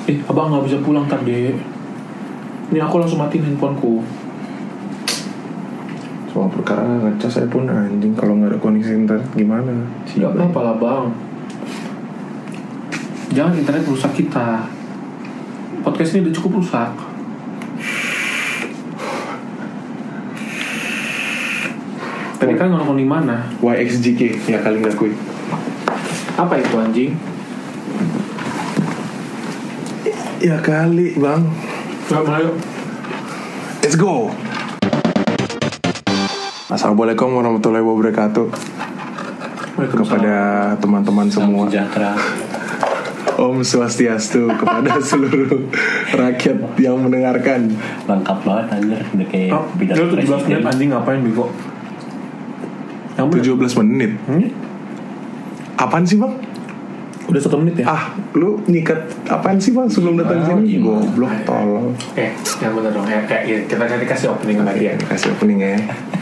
Abang gak bisa pulang tadi. Ini aku langsung matiin handphoneku. Soal perkara ngecas iPhone anjing, kalau gak ada koneksi internet gimana? Gak apa-apa lah bang. Jangan internet rusak kita. Podcast ini udah cukup rusak. Tadi kan ngomong di mana? YXJK ya kali ngakui. Apa itu anjing? Ya kali bang. Ayo. Let's go. Assalamualaikum warahmatullahi wabarakatuh. Kepada teman-teman semua. Sejahtera. Om Swastiastu kepada seluruh rakyat yang mendengarkan. Lengkap banget anjir. Udah kayak pidato Lu 17 menit anjing ngapain Biko? 17 menit. Apaan sih bang? Udah 1 menit ya? Lu nyikat apaan sih bang sebelum datang sini? Goblok tolong. Yang bener dong. Kita nanti kasih opening lagi ya. Kasih opening ya.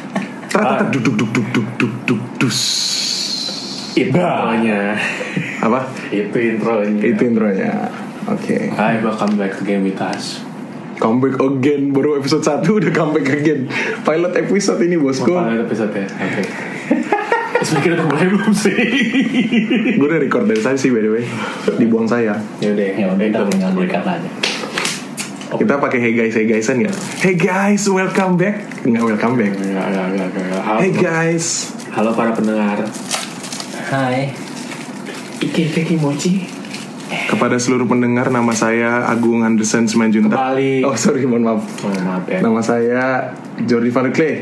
Dus. Intronya. Apa? Itu intronya. Oke. Hai, welcome back to Game With Us. Comeback again. Baru episode 1 udah comeback again. Pilot episode ini bosku. Pilot episode ya. Oke. Sebenernya udah mulai belum sih? Gue udah record dari saya sih by the way. Dibuang saya. Yaudah kita tinggal berikan aja. Kita pakai hey guysan ya. Hey guys, welcome back. Enggak welcome back. Enggak. Hey guys. Halo para pendengar. Hai. Ike Kimochi. Kepada seluruh pendengar, nama saya Agung Anderson Simanjuntak. Kembali. Oh sorry, mohon maaf. Maaf ya. Nama saya Jordi Van der Klee.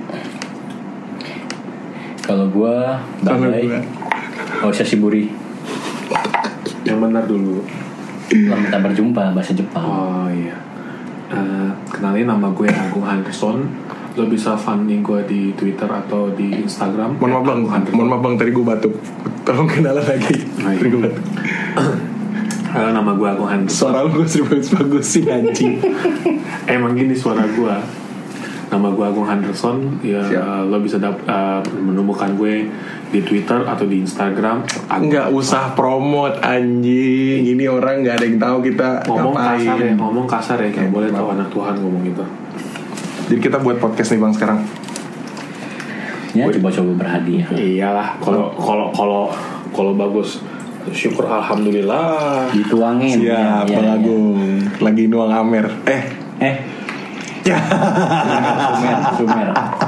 Kalau gua Bandai. Shiburi. Yang benar dulu. Selamat berjumpa bahasa Jepang. Oh iya. Kenalin, nama gue Agung Anderson. Lo bisa funding gue di Twitter atau di Instagram. Mohon maaf bang, tadi gue batuk. Tolong kenalan lagi. Tadi gue batuk. Halo, nama gue Agung Anderson. Suara lu gue bagus sih anjing. Emang gini suara gue. Nama gue Agung Anderson. Ya lo bisa menemukan gue di Twitter atau di Instagram. Nggak usah promote anjing. Ini orang nggak ada yang tahu kita ngapain. Ngomong kasar ya. Kayak boleh tahu anak Tuhan ngomong gitu. Jadi kita buat podcast nih bang sekarang. Ya coba-coba berhadiah. Iyalah. Kalau bagus, syukur alhamdulillah. Dituangin. Siap bang Agung. Lagi nuang Amer. Ya. Sumer.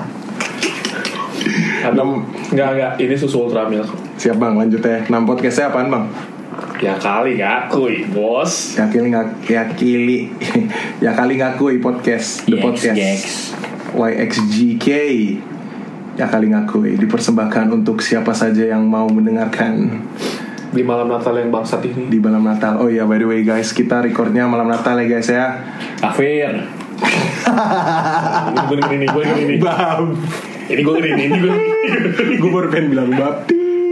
Enggak. Ini susu Ultramilk. Siap bang, lanjut ya. Nama podcastnya apaan bang? Ya kali ngakui bos. Ya kali ngakui podcast. The podcast YXJK. Ya kali ngakui. Dipersembahkan untuk siapa saja yang mau mendengarkan. Di malam Natal yang bangsat ini. Di malam Natal. Oh iya, by the way guys, kita recordnya malam Natal ya guys ya. Kafir. Ini gue ini. Bam. Ini gue ini. Gue baru pengen bilang bab.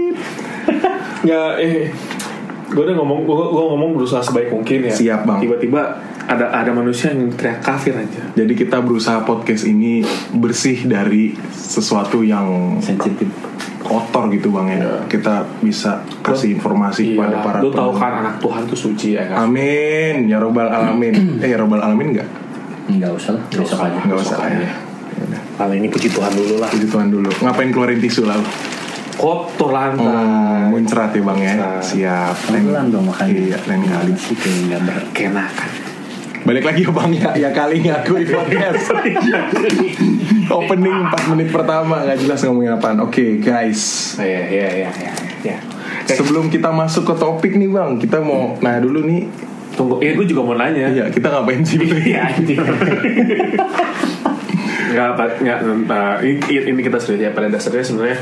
Gue udah ngomong berusaha sebaik mungkin ya. Siap bang. Tiba-tiba ada manusia yang teriak kafir aja. Jadi kita berusaha podcast ini bersih dari sesuatu yang sensitif, kotor gitu bang ya. Kita bisa kasih informasi kepada para. Lu tahu kan anak Tuhan tuh suci ya kan. Amin ya robbal alamin. Ya robbal alamin enggak? Enggak usah lah. Enggak usah ya. Kali ini puji Tuhan dulu lah. Puji Tuhan dulu. Ngapain keluarin tisu lalu? Kotor lantai. Muncrat ya bang ya. Siap. Pelan dong makanya. Iya, lain kali sih kayak nggak berkenakan. Balik lagi ya bang ya kali ngaku di podcast. Opening 4 menit pertama nggak jelas ngomongin apaan. Oke, guys. Iya. Sebelum kita masuk ke topik nih bang, kita mau dulu nih. Tunggu, gue juga mau nanya. Iya, kita ngapain sih? Iya, ini kita serius ya. Pada dasarnya sebenarnya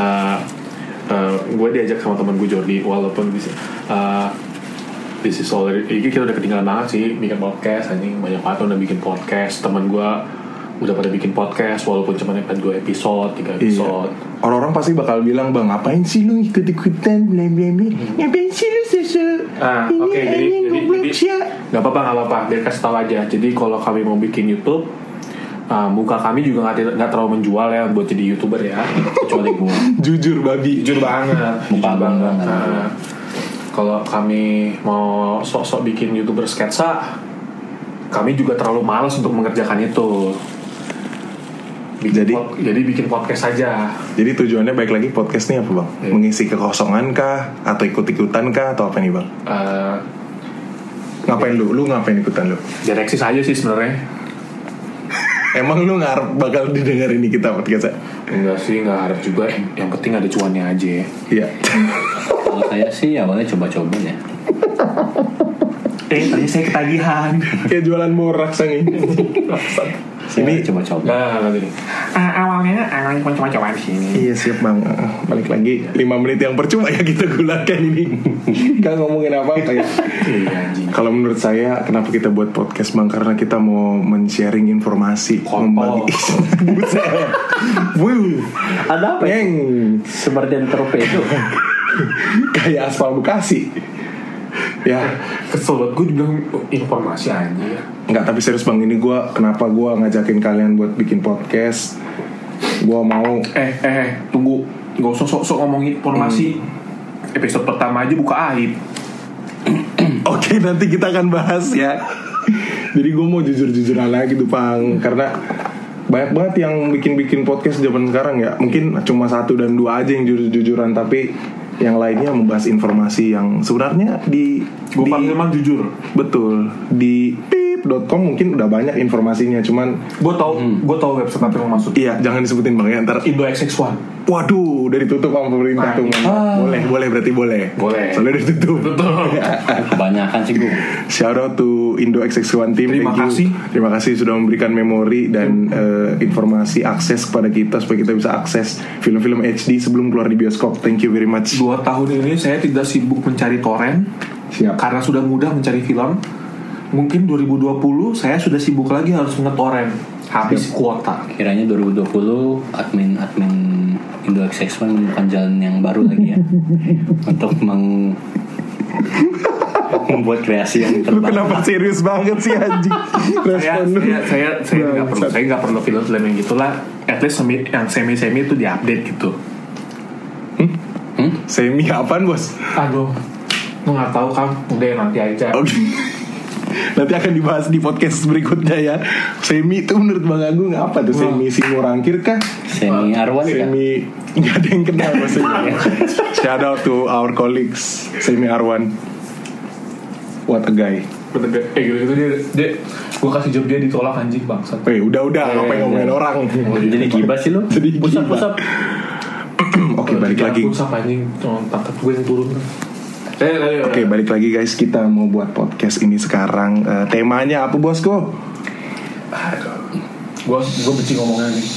gue diajak sama teman gue Jordi, walaupun this is already, kita udah ketinggalan banget sih bikin podcast. Anjing banyak banget udah bikin podcast. Teman gue udah pada bikin podcast walaupun cuma 2 episode, 3 episode. Iya. Orang-orang pasti bakal bilang, bang ngapain sih lu ikut-ikutan ngapain sih lu Oke, jadi nggak apa-apa biar kasih tahu aja. Jadi kalau kami mau bikin YouTube, muka kami juga nggak terlalu menjual ya buat jadi YouTuber ya, kecuali gue. Jujur banget muka banget. kalau kami mau sok-sok bikin YouTuber sketsa, kami juga terlalu malas untuk mengerjakan itu. Jadi bikin podcast saja. Jadi tujuannya baik lagi podcast nih apa bang? Mengisi kekosongan kah? Atau ikut-ikutan kah? Atau apa nih bang? Ngapain lu? Lu ngapain ikutan lu? Jadi eksis aja sih sebenarnya. Emang lu ngarep bakal didengerin ini kita podcast? Enggak sih, nggak harap juga. Yang penting ada cuannya aja. Iya. Kalau saya sih awalnya coba-coba ya. Tadi saya ketagihan. Kayak jualan borak sang ini. Ini coba-coba. Awalnya coba-coba di sini. Iya siap bang. Balik lagi 5 menit yang percuma ya kita gunakan ini. Gak ngomongin apa-apa ya. Kalau menurut saya kenapa kita buat podcast bang? Karena kita mau men-sharing informasi, membagi. Buset. Ada apa? Yang Seperti torpedo. kayak aspal Bekasi. Ya, kesel banget gue dibilang informasi aja. Enggak, tapi serius bang, ini kenapa gue ngajakin kalian buat bikin podcast. Gue mau tunggu, gak usah sok-sok ngomongin informasi. Episode pertama aja buka aib. Oke, nanti kita akan bahas ya. Jadi gue mau jujur-jujuran lagi tuh bang, karena banyak banget yang bikin podcast zaman sekarang ya. Mungkin cuma 1 dan 2 aja yang jujur-jujuran, tapi yang lainnya membahas informasi yang sebenarnya gue panggil mah jujur. Betul. Di pip.com mungkin udah banyak informasinya, cuman gue tahu website apa yang maksud. Iya, jangan disebutin bang ya, ntar Indo XX1. Waduh, udah ditutup sama pemerintah tuh. Boleh berarti boleh. Soalnya udah ditutup. Betul. Kebanyakan sih gue. Shout out to Indo XX1 team. Terima kasih sudah memberikan memori dan informasi akses kepada kita supaya kita bisa akses film-film HD sebelum keluar di bioskop. Thank you very much. 2 tahun ini saya tidak sibuk mencari torrent. Siap. Karena sudah mudah mencari film. Mungkin 2020 saya sudah sibuk lagi harus nge-torrent. Habis kuota. Kiranya 2020 admin Indo XX1 menemukan jalan yang baru lagi ya. Untuk membuat kreasi yang terbaru. Lu terbaru. kenapa serius banget sih anjing? Saya nggak perlu film-film yang gitulah. At least yang semi itu diupdate gitu. Semi apaan bos? Aduh, lu nggak tahu kan? Udah nanti aja. Oke. Nanti akan dibahas di podcast berikutnya ya. Semi itu menurut Bang Agung apa tuh? Semi Simorangkir kah? Semi Arwan kah? Semi nggak ada yang kenal maksudnya. Shout out to our colleagues Semi Arwan. What a guy. Gitu dia gue kasih job dia ditolak anjing bangsat. Udah apa yang ngomongin orang. Jadi gibah sih lu. Jadi pusap. Oke, balik lagi. Pusap anjing, pantat gue yang turun. Oke, balik lagi guys, kita mau buat podcast ini sekarang. Temanya apa bosku? Gue benci ngomongnya nih.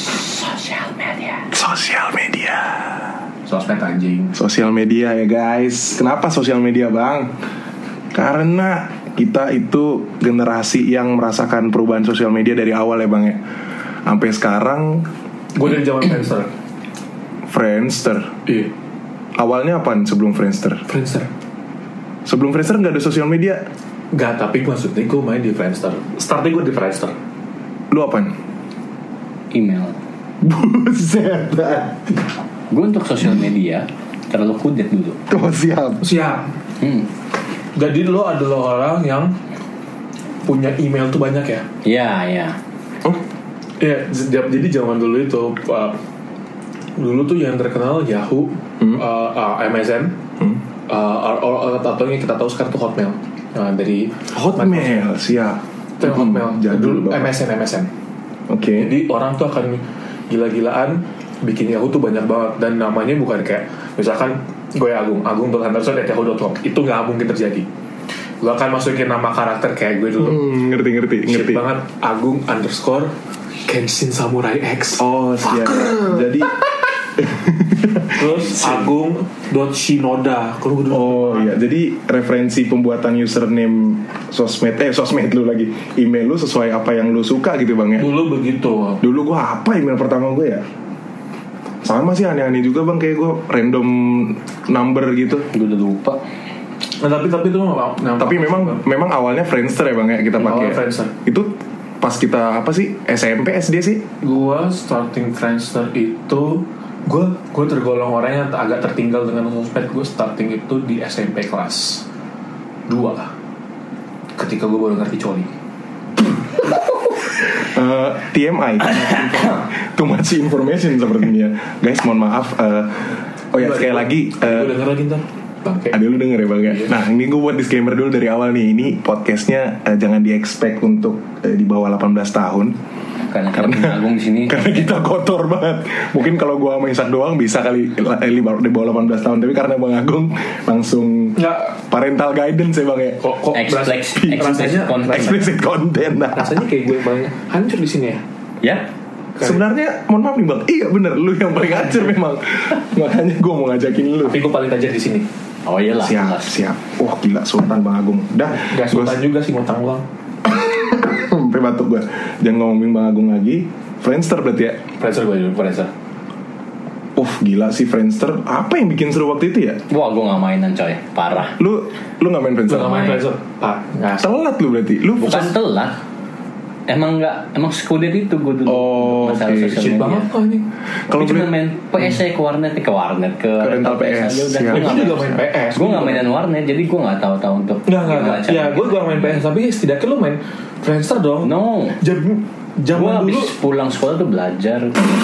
Sosial media ya guys. Kenapa sosial media bang? Karena kita itu generasi yang merasakan perubahan sosial media dari awal ya bang ya. Sampai sekarang. Gue dari zaman Friendster. Iya. Awalnya apaan sebelum Friendster? Sebelum Friendster gak ada sosial media? Gak, tapi maksudnya gue main di Friendster. Startnya gue di Friendster. Lu apaan? Email. Buset. Gue untuk sosial media terlalu kudet dulu. Oh siap. Jadi lo adalah orang yang punya email tuh banyak ya? Iya. Oh? Iya, jadi zaman dulu itu dulu tuh yang terkenal Yahoo, MSN, atau yang kita tahu sekarang tuh Hotmail. Dari Hotmail, siap. Itu yang Hotmail. Dulu MSN. Oke. Jadi orang tuh akan gila-gilaan bikin Yahoo tuh banyak banget, dan namanya bukan kayak misalkan gue Agung.Henderson@yahoo.com. Itu nggak mungkin terjadi. Gue akan masukin nama karakter kayak gue dulu. Ngerti. Shit banget. Agung_Kenshin Samurai X. Oh siap. Jadi terus Agung.Shinoda. Oh iya. Jadi referensi pembuatan username sosmed lu lagi, email lu sesuai apa yang lu suka gitu bang ya. Dulu begitu. Dulu gue apa email pertama gue ya? Sama sih aneh-aneh juga bang, kayak gue random number gitu. Gue udah lupa. Nah, tapi memang awalnya Friendster ya bang ya kita pakai. Itu pas kita apa sih, SMP SD sih? Gua starting Friendster itu Gue tergolong orang yang agak tertinggal dengan sosmed. Gue starting itu di SMP kelas 2 ketika gue baru ngerti coli. TMI too much information sepertinya guys, mohon maaf. Oh ya, sekali lagi gue denger lagi ntar bangke. Ada lu denger ya bang ya? Iya. Nah ini gue buat disclaimer dulu dari awal nih. Ini podcastnya jangan di-expect untuk di bawah 18 tahun. Karena Agung di sini. Karena kita kotor banget. Mungkin kalau gue sama Isak doang bisa kali di bawah 18 tahun. Tapi karena Bang Agung langsung Nggak. parental guidance ya bang ya. Kok Explicit content. Nah. rasanya kayak gue paling hancur di sini ya. Ya. Sebenarnya mohon maaf nih bang. Iya bener, lu yang paling hancur memang. Makanya gue mau ngajakin lu. Tapi gue paling tajam di sini. Oh iyalah. Siap. Wah gila, Sultan Bang Agung. Dah. Gak sultan juga sih, ngutang uang. Sampai batuk gue. Jangan ngomongin Bang Agung lagi. Friendster berarti ya. Friendster gue dulu, Friendster. Gila sih Friendster. Apa yang bikin seru waktu itu ya? Wah, gue gak mainan coy. Parah. Lu gak main Friendster? Gue gak main Friendster. Telat lu berarti. Lu Bukan telat. Emang sekudet itu gue dulu. Masalah oke. sosial shit media. banget kok ini. Kalau cuma main PS saya ke warnet ke rental PS. aja udah. Siap. Gue Gue juga main PS. Gue gak mainan warnet, jadi gue gak tahu untuk. Enggak. Ya gue gak main PS, tapi setidaknya lu main Friendster dong. No. Zaman Gue dulu. habis pulang sekolah tuh belajar.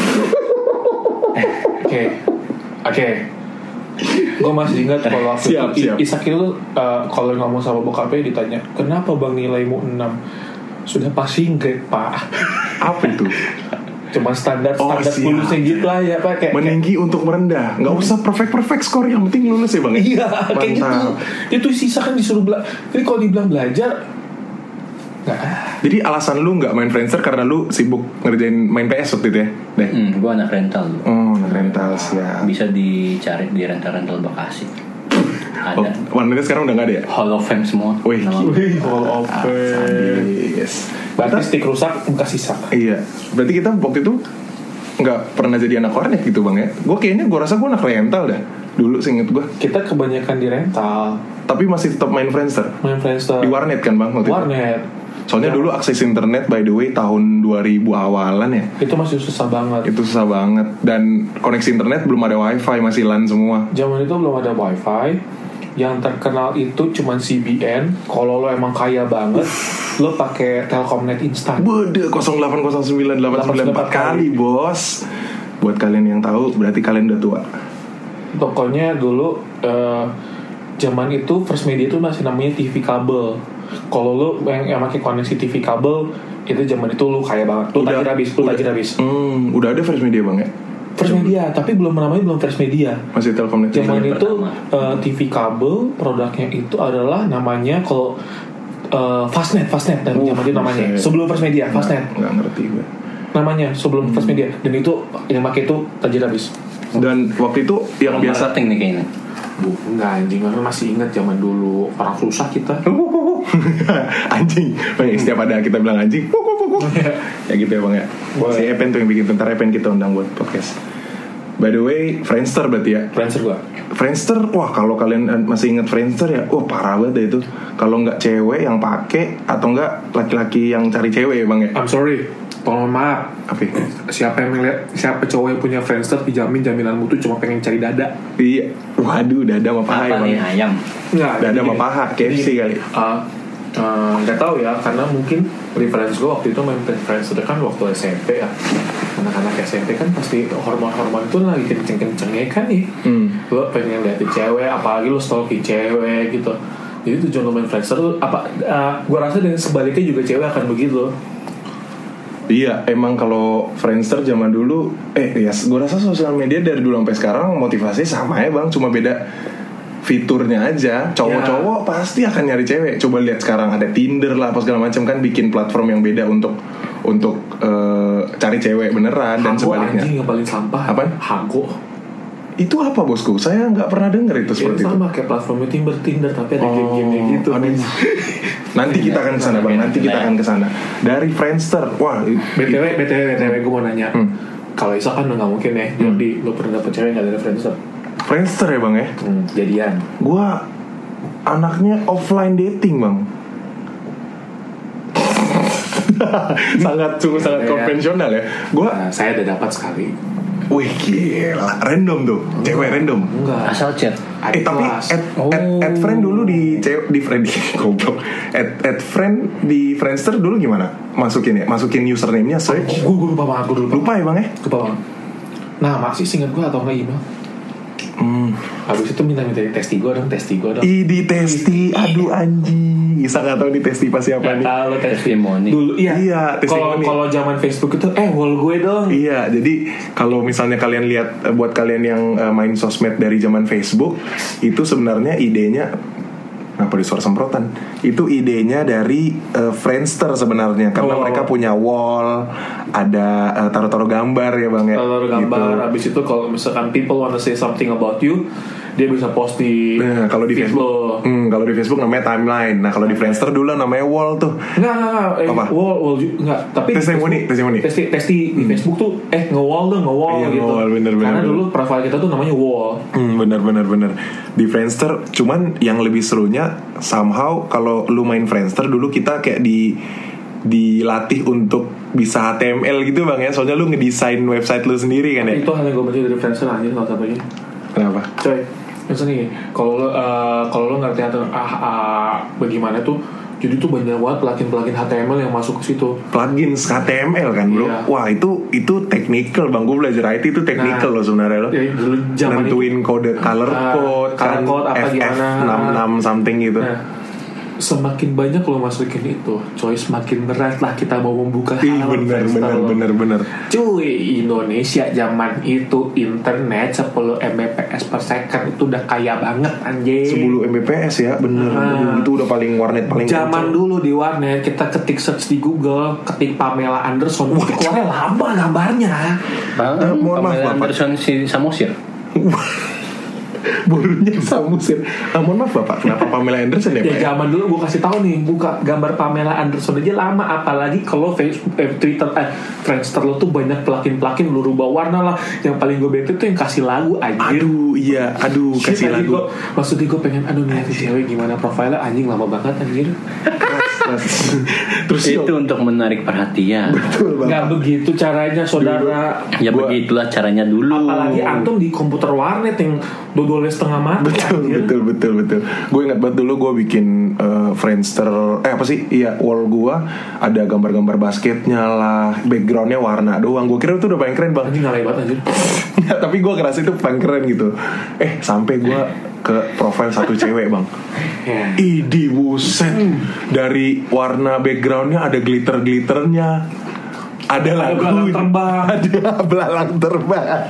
Oke. Gue masih ingat kalau waktu Siap. Isak itu kalau ngomong sama bokapnya ditanya, kenapa bang nilaimu 6? Sudah passing grade pak. apa itu? Cuma standar siap. lulusnya gitu lah ya pak. Kayak Meninggi untuk merendah. Gak usah perfect score, yang penting lulus ya bang. iya kayak gitu. Mantap. Itu sisa kan disuruh jadi kalau dibilang belajar nggak. Jadi alasan lu gak main Friendster karena lu sibuk ngerjain main PS waktu itu ya? Deh. Gue anak rental. Rental siap. Bisa dicari di rental Bekasi. Ada. Warnetnya sekarang udah gak ada ya? Hall of Fame semua. Wih. Wih, Hall of Fame. Yes. Berarti stick rusak bekas sisa. Iya. Berarti kita waktu itu nggak pernah jadi anak warnet gitu bang ya? Gue rasa gue anak rental dah. Dulu seinget gue. Kita kebanyakan di rental. Tapi masih tetap main Friendster. Di warnet kan bang waktu warnet. itu? Soalnya dulu akses internet by the way tahun 2000 awalan ya. Itu masih susah banget. Itu susah banget. Dan koneksi internet belum ada wifi, masih LAN semua. Zaman itu belum ada wifi. Yang terkenal itu cuman CBN. Kalau lo emang kaya banget, lo pakai Telkomnet instan. Bode 0809894 kali bos. Buat kalian yang tahu berarti kalian udah tua. Pokoknya dulu zaman itu First Media itu masih namanya TV kabel. Kalau lo yang pakai koneksi TV kabel itu zaman itu lo kaya banget. Lo tajir habis. Udah ada First Media bang ya? First Media, tapi namanya belum First Media. Masih Telkomnet. Zaman itu TV kabel produknya itu adalah namanya kalau Fastnet dan zaman itu namanya sebelum First Media Fastnet. Nggak ngerti gue. Namanya sebelum First Media, dan itu yang pakai itu tajir habis. Dan waktu itu yang biasa nih kayaknya. Enggak anjing, masih ingat zaman dulu orang susah kita. Anjing, bang, setiap ada kita bilang anjing, ya gitu ya bang ya. Boleh. Si Epen tuh yang bikin, bentar Epen kita undang buat podcast. By the way, Friendster berarti ya. Friendster, wah kalau kalian masih ingat Friendster ya, wah parah banget deh itu. Kalau nggak cewek yang pakai atau nggak laki-laki yang cari cewek ya bang ya. I'm sorry, mohon maaf. Apa? Siapa cowok yang punya Friendster dijamin jaminan mutu cuma pengen cari dada. Iya, waduh dada sama paha ya bang. Nih ayam? Nggak, Dada sama paha, KFC kali. Nggak tahu ya, karena mungkin referensi gue waktu itu main Friendster kan waktu SMP ya. Anak-anak SMP kan pasti hormon itu lagi kenceng-kencengnya kan nih. Lo pengen liatin cewek, apalagi lo stalking cewek gitu. Jadi tujuan lo main Friendster tuh gue rasa dengan sebaliknya juga cewek akan begitu. Iya, emang kalau Friendster zaman dulu, ya gue rasa sosial media dari dulu sampai sekarang motivasinya sama ya bang, cuma beda fiturnya aja. Cowok-cowok pasti akan nyari cewek. Coba lihat sekarang ada Tinder lah, apa segala macam kan, bikin platform yang beda untuk cari cewek beneran. Dan sebaliknya. Anjing yang paling sampah. Apa? Hago. Itu apa bosku? Saya nggak pernah dengar itu seperti itu. Sama kayak platformnya Tinder tapi ada game-game gitu. Nanti kita akan kesana bang. Nanti kita akan kesana. Dari Friendster, wah. BTW gue mau nanya. Kalau Isa kan nggak mungkin ya. Jadi lo pernah dapet cewek nggak dari Friendster? Friendster ya bang ya. Jadian. Gua anaknya offline dating bang. sangat konvensional ya. Saya udah dapat sekali. Wih gila, random tuh, cewek random. Enggak. Asal chat. Tapi add friend dulu di friend goblok. Add friend di Friendster dulu gimana? Masukin username-nya search. Gue lupa banget, Lupa ya bang ya? Lupa banget. Nah masih singkat gue atau nggak email. Habis itu minta testi gue dong. Di testi, aduh anjing. Isa nggak tahu di testi pas siapa nih. Kalau testimoni. Dulu iya. Kalau zaman Facebook itu wall gue dong. Iya, jadi kalau misalnya kalian lihat buat kalian yang main sosmed dari zaman Facebook, itu sebenarnya idenya apa di suara semprotan? Itu idenya dari Friendster sebenarnya karena mereka punya wall, ada taruh-taruh gambar ya bang ya. Taruh gambar. Gitu. Abis itu kalau misalkan people wanna say something about you, dia bisa post di. Nah kalau di Facebook, kalau di Facebook namanya timeline. Nah kalau di Friendster dulu namanya wall tuh. Enggak. Wall enggak. Tapi testimoni. Testi di Facebook tuh nge-wall iya, gitu. Nge-wall, bener. Karena dulu profile kita tuh namanya wall. Bener. Di Friendster, cuman yang lebih serunya somehow kalau lu main Friendster dulu kita kayak dilatih untuk bisa HTML gitu bang ya. Soalnya lu ngedesain website lu sendiri kan ya. Itu hal yang gue baca dari Friendster aja salah satunya. Kenapa? Coy, misalnya nih, kalau lo ngerti bagaimana tuh, jadi tuh banyak banget plugin HTML yang masuk ke situ. Plugin HTML kan bro? Iya. Wah itu technical bang, gue belajar IT itu technical loh sebenarnya lo. Nentuin kode color code kan, FF66 something gitu. Semakin banyak lo masukin itu, coy, semakin berat lah kita mau membuka halaman. Bener. Cuy, Indonesia zaman itu internet 10 Mbps per second itu udah kaya banget anjing. 10 Mbps ya, bener. Itu udah paling warnet paling zaman kencang. Dulu di warnet kita ketik search di Google, ketik Pamela Anderson, itu keluarnya lama gambarnya. Pamela Anderson si Samosir. Burunya Samusir. Mohon maaf bapak, kenapa Pamela Anderson ya pak? Ya zaman dulu gue kasih tahu nih, buka gambar Pamela Anderson aja lama, apalagi kalau Facebook, Twitter, Friendster lo tuh banyak plugin lu rubah warna lah. Yang paling gue bete tuh yang kasih lagu anjir. Kasih lagu. Maksudnya gue pengen nih cewek gimana profilnya, anjing lama banget anjir. Terus itu untuk menarik perhatian. Betul banget. Gak begitu caranya saudara. Ya begitulah caranya dulu. Apalagi antum di komputer warnet yang dodolnya setengah mati. Betul. Gue ingat banget dulu gue bikin Friendster wall gue ada gambar-gambar basketnya lah, backgroundnya warna doang. Gue kira itu udah paling keren bang. Ini ngalai banget anjir. Tapi gue ngerasa itu paling keren gitu. Sampai gue ke profile satu cewek bang. Idi buset. Dari warna backgroundnya ada glitter-glitternya, ada lagu terbang, ada belalang terbang.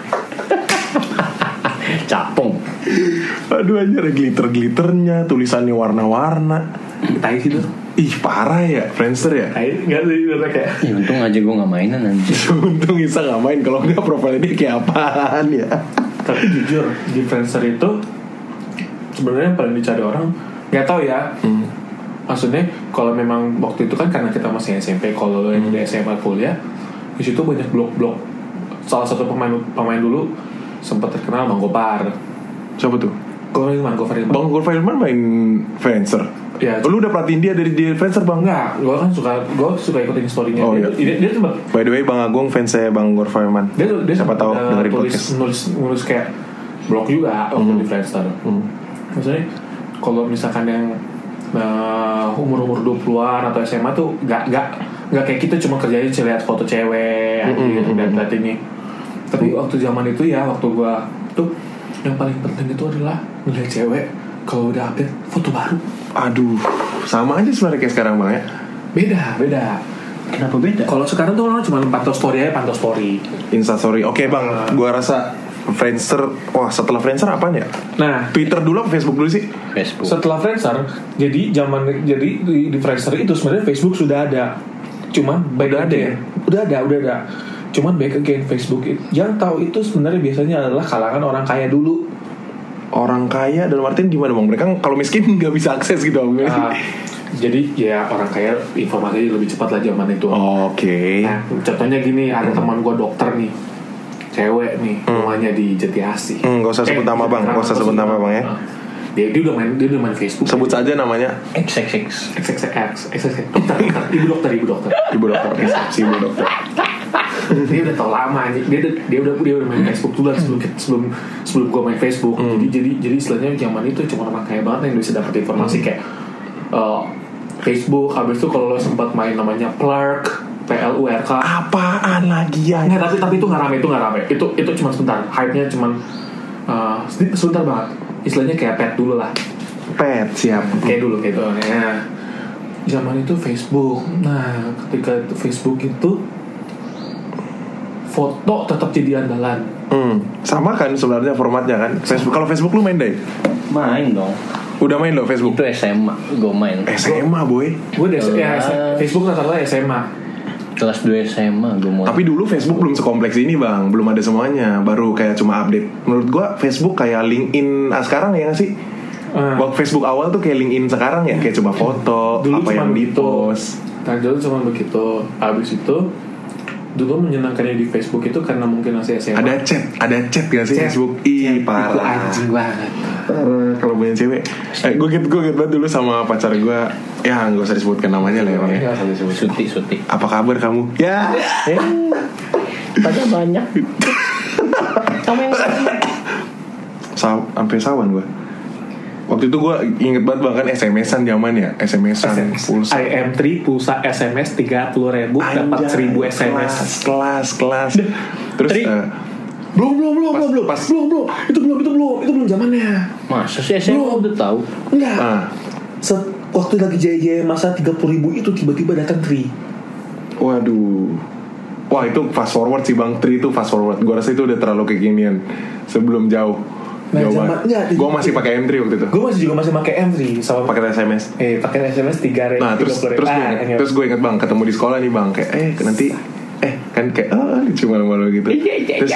Capung. Aduh anjir, ada glitter-glitternya, tulisannya warna-warna. Tai sih tuh. Ih parah ya Friendster ya. Enggak sih kayak. Ya untung aja gue gak mainan anjir. Untung Isa gak main, kalau enggak profilnya dia kayak apaan ya. Tapi jujur di Friendster itu sebenarnya yang paling dicari orang, nggak tahu ya. Maksudnya kalau memang waktu itu kan karena kita masih SMP, kalau yang udah SMA kuliah, di situ banyak blog-blog. Salah satu pemain dulu sempat terkenal Bang Gopar. Siapa tuh? Bang Gopar Hilman main Friendster. Ya, lu udah perhatiin dia dari Friendster bang? Enggak, gue suka ikutin story-nya. Oh, iya. Dia tuh by the way Bang Agung fansnya Bang Gopar Hilman. Dia siapa tahu dengerin podcast. Nulis kayak blog juga waktu di Friendster. Maksudnya kalau misalkan yang umur 20-an atau SMA tuh gak kayak kita cuma kerjanya lihat foto cewek lihat ini. Tapi waktu zaman itu ya, waktu gua tuh yang paling penting itu adalah ngeliat cewek kalau udah update foto baru. Aduh, sama aja sebenarnya kayak sekarang bang ya. Beda. Kenapa beda? Kalau sekarang tuh orang cuma pantau story, Insta story. Oke bang, gua rasa Friendster, setelah Friendster apaan ya? Nah, Twitter dulu apa Facebook dulu sih? Facebook. Setelah Friendster, jadi di Friendster itu sebenarnya Facebook sudah ada. Cuman udah ada. Cuman back again Facebook yang tahu itu sebenarnya biasanya adalah kalangan orang kaya dulu. Orang kaya dalam artian gimana bang? Mereka kalau miskin nggak bisa akses gitu bang. Jadi ya orang kaya informasinya lebih cepat lah zaman itu. Oke. Nah, contohnya gini, ada teman gue dokter nih, cewek nih, rumahnya di Jatiasih. Gak usah sebut nama bang, ya. Dia udah main Facebook. Sebut saja namanya. XXX. Dokter. Ibu dokter. Oke, si ibu dokter. Dia udah tau lama anjing. Dia udah main Facebook dulu sebelum gue main Facebook. Jadi istilahnya zaman itu cuma orang kaya banget yang bisa dapat informasi kayak Facebook. Habis itu kalau lo sempat main namanya Plurk, PLURK. Apaan lagi ya? Nggak, tapi itu nggak rame. Itu cuma sebentar. Hype-nya cuma sebentar banget. Istilahnya kayak pet dulu lah. Pet, siap. Kayak dulu gitu. Nah, zaman itu Facebook. Nah, ketika itu Facebook itu foto tetap jadi andalan. Sama kan sebenarnya formatnya kan. Facebook. Kalau Facebook lu main deh? Main dong. Udah main lo Facebook? Itu SMA gue main. SMA boy. Gue Facebook rata-rata SMA. Kelas 2 SMA gue mau. Tapi dulu Facebook belum sekompleks ini bang. Belum ada semuanya. Baru kayak cuma update. Menurut gue Facebook kayak LinkedIn sekarang ya gak sih? Waktu Facebook awal tuh kayak LinkedIn sekarang ya. Kayak cuma foto dulu apa yang di-post. Nah dulu cuma begitu. Abis itu dulu menyenangkannya di Facebook itu karena mungkin masih SMA. Ada chat gak sih Facebook? Ih parah. Itu anjing banget. Kalau punya cewek, gue get banget dulu sama pacar gue. Ya nggak usah disebutkan namanya lah ya. Suti. Apa kabar kamu? Ya. Tanya banyak. Kamu yang sampai sawan gue. Waktu itu gue inget banget bahkan SMS-an zaman ya. SMS-an pulsa IM3 pulsa SMS 30.000 dapat 1.000 SMS. Kelas. Terus belum. Itu belum zamannya. Masa sih SMA udah tahu? Enggak. Waktu lagi jaya masa 30.000 itu tiba-tiba datang Tri. Waduh. Wah itu fast forward sih bang. Tri itu fast forward. Gue rasa itu udah terlalu kekinian. Sebelum jauh. Nah, gue masih pakai M3 waktu itu. Gue masih pakai M3 sama pakai SMS. Pakai SMS 3. Nah terus gue ingat bang ketemu di sekolah nih bang kayak nanti kan kayak lucu malu-malu gitu. Terus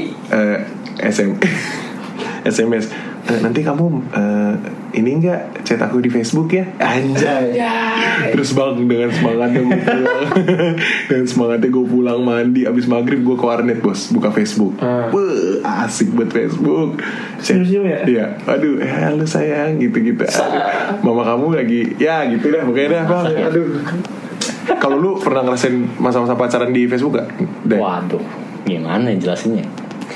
SMS nanti kamu ini enggak chat aku di Facebook ya anjay. Terus bang dengan semangatnya gue pulang mandi abis maghrib gue ke warnet bos buka Facebook. Asik buat Facebook. Senyum ya? Iya. Aduh halo sayang gitu mama kamu lagi ya gitu dah pokoknya dah bang. Aduh. Kalau lu pernah ngerasain masa-masa pacaran di Facebook gak? Waduh, gimana jelasinnya?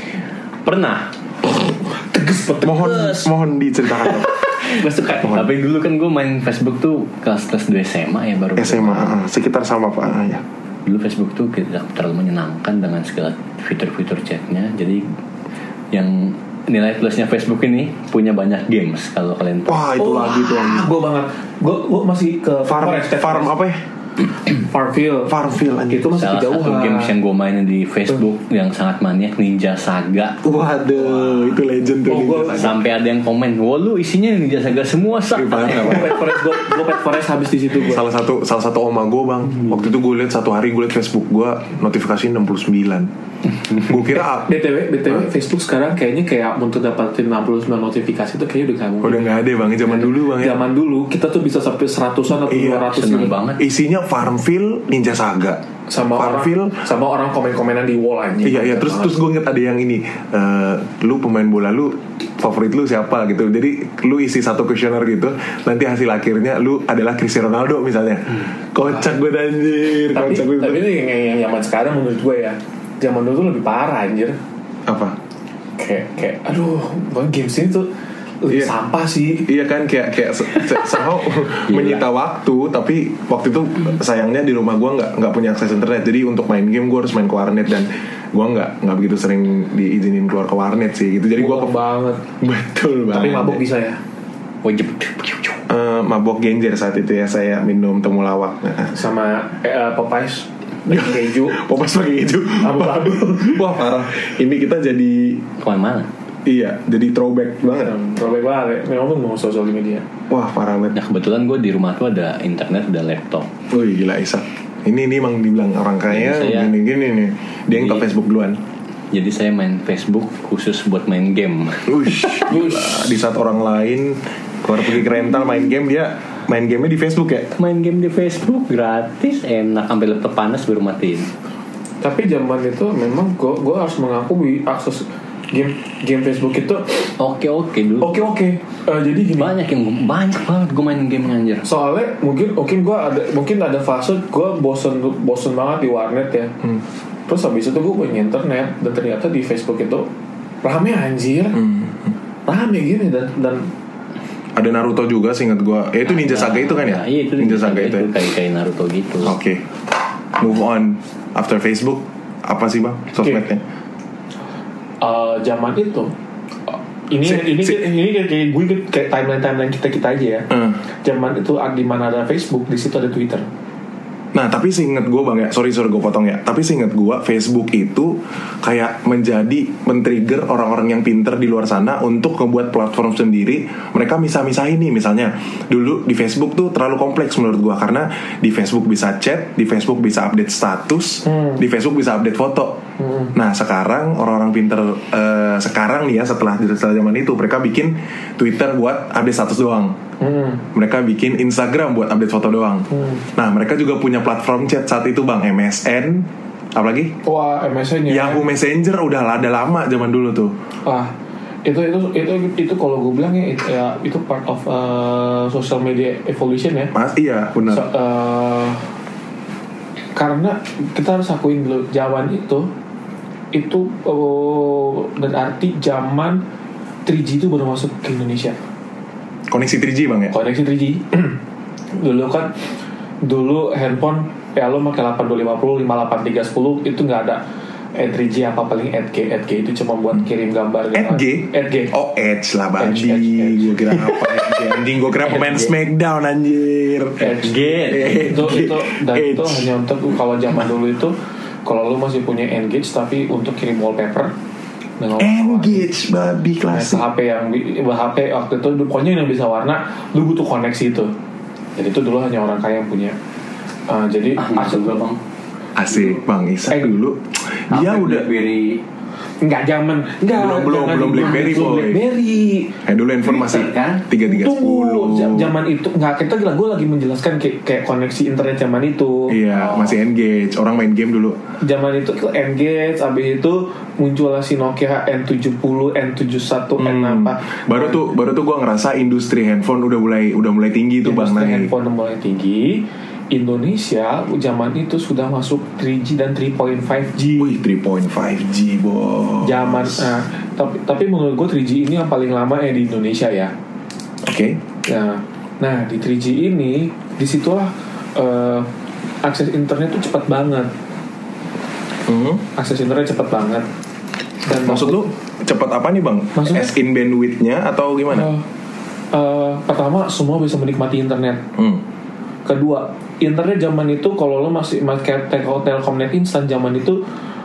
Pernah. Tegas. Mohon diceritakan. Gue suka. Tapi dulu kan gue main Facebook tuh kelas 2 SMA ya baru. SMA, sekitar sama pak ya. Dulu Facebook tuh tidak terlalu menyenangkan dengan segala fitur-fitur chatnya. Jadi yang nilai plusnya Facebook ini punya banyak games kalau kalian tahu. Wah itu lagi tuh. Gue banget. Gue masih ke farm apa ya? Farmville itu masih salah kejauhan. Satu games yang gue mainin di Facebook yang sangat maniak Ninja Saga. Waduh, itu legend tuh. Sampai ada yang komen, "Wah lu isinya Ninja Saga semua sak." Gue Pet Forest habis di situ gue. Salah satu oma gue bang. Waktu itu gue lihat satu hari gue lihat Facebook gue notifikasi 69. Gue kira BTW Facebook sekarang kayaknya kayak untuk dapatin 69 notifikasi itu kayaknya udah gak mungkin. Udah gak ada bang. Zaman dulu bang ya. Zaman dulu kita tuh bisa sampai 100-an atau 200 seneng banget. Isinya Farmville, Ninja Saga, sama orang komen-komenan di wall aja. Iya terus gue inget ada yang ini lu pemain bola lu favorit lu siapa gitu. Jadi lu isi satu kuesioner gitu. Nanti hasil akhirnya lu adalah Cristiano Ronaldo misalnya. Kocak gue anjir. Tapi ini yang zaman sekarang menurut gue ya. Zaman dulu tuh lebih parah anjir. Apa? Kayak aduh, games ini tuh lebih sampah sih. Iya kan kayak somehow menyita waktu. Tapi waktu itu sayangnya di rumah gue nggak punya akses internet. Jadi untuk main game gue harus main ke warnet. Dan gue nggak begitu sering diizinin keluar ke warnet sih gitu. Jadi gue banget. Betul banget. Tapi mabuk bisa ya. Wajib. Mabok genjer saat itu ya. Saya minum temulawak sama Popeyes pakai keju. Popeyes pakai keju. Abu-abu. Wah parah. Ini kita jadi kemana? Iya, jadi throwback banget. Throwback banget. Memang mau sosial media. Wah parah banget. Nah kebetulan gue di rumah tuh ada internet, ada laptop. Wih gila Isa. Ini emang dibilang orang kaya gini nih. Dia yang ke Facebook duluan. Jadi saya main Facebook khusus buat main game. Di saat orang lain keluar pergi ke rental main game, dia main gamenya di Facebook ya. Main game di Facebook gratis, enak, sampai laptop panas baru matiin. Tapi zaman itu memang gue harus mengaku akses game Facebook itu oke dulu. Oke. Jadi gini, banyak banget gue main game anjir. Soalnya mungkin ada fase gue bosen banget di warnet ya. Terus habis itu gue punya internet, dan ternyata di Facebook itu rame anjir, rame gini, dan ada Naruto juga seingat gue. Itu Ninja Saga itu kan ya? Iya, itu Ninja Saga itu. Kayak Naruto gitu. Oke. Move on after Facebook, apa sih bang sosmednya? Zaman itu ini kayak gue kayak timeline kita aja ya. Zaman itu di mana ada Facebook, di situ ada Twitter. Nah tapi seinget gue bang ya, sorry gue potong ya. Tapi seinget gue Facebook itu kayak men-trigger orang-orang yang pinter di luar sana untuk ngebuat platform sendiri. Mereka misah-misahin nih, misalnya dulu di Facebook tuh terlalu kompleks menurut gue, karena di Facebook bisa chat, di Facebook bisa update status, di Facebook bisa update foto. Nah sekarang orang-orang pinter sekarang nih ya, setelah zaman itu mereka bikin Twitter buat update status doang. Mereka bikin Instagram buat update foto doang. Nah mereka juga punya platform chat saat itu bang, MSN, apalagi? Wah MSN ya. Yahoo Messenger udah ada lama zaman dulu tuh. Itu kalau gue bilang ya itu part of social media evolution ya. Mas iya benar. Karena kita harus akuin dulu zaman itu berarti zaman 3G itu baru masuk ke Indonesia. Koneksi 3G bang ya? Koneksi 3G. Dulu handphone ya lo pakai 8250, 58310 itu nggak ada 3G apa, paling 8G itu cuma buat kirim gambar. 8G? Oh Edge lah babi. Gue kira apa Edge? Anjing gue kira pemain Smackdown anjir. Edge itu hanya untuk kalau zaman dulu itu, kalau lo masih punya Engage tapi untuk kirim wallpaper. Engage babi klasik. HP waktu itu pokoknya yang bisa warna, lu butuh koneksi itu. Jadi itu dulu hanya orang kaya yang punya. Jadi asik gue bang. Asik bang Isa dulu. Dia udah belum BlackBerry boy. Dulu handphone masih kan 3310. Zaman itu kita gue lagi menjelaskan kayak koneksi internet zaman itu. Iya, masih Engage. Orang main game dulu. Zaman itu Engage, abis itu muncullah si Nokia N70, N71, N apa. Baru tuh gue ngerasa industri handphone udah mulai tinggi tuh bang. Industri handphone udah mulai tinggi. Indonesia zaman itu sudah masuk 3G dan 3.5G. Wih, 3.5G bos. Zaman tapi menurut gue 3G ini yang paling lama di Indonesia ya. Oke. Nah di 3G ini disitulah akses internet tuh cepat banget. Akses internet cepat banget. Dan maksud lu cepat apa nih bang? Maksudnya? As in bandwidth-nya atau gimana? Pertama semua bisa menikmati internet. Kedua, internet zaman itu kalau lo masih pakai Telkomnet instan zaman itu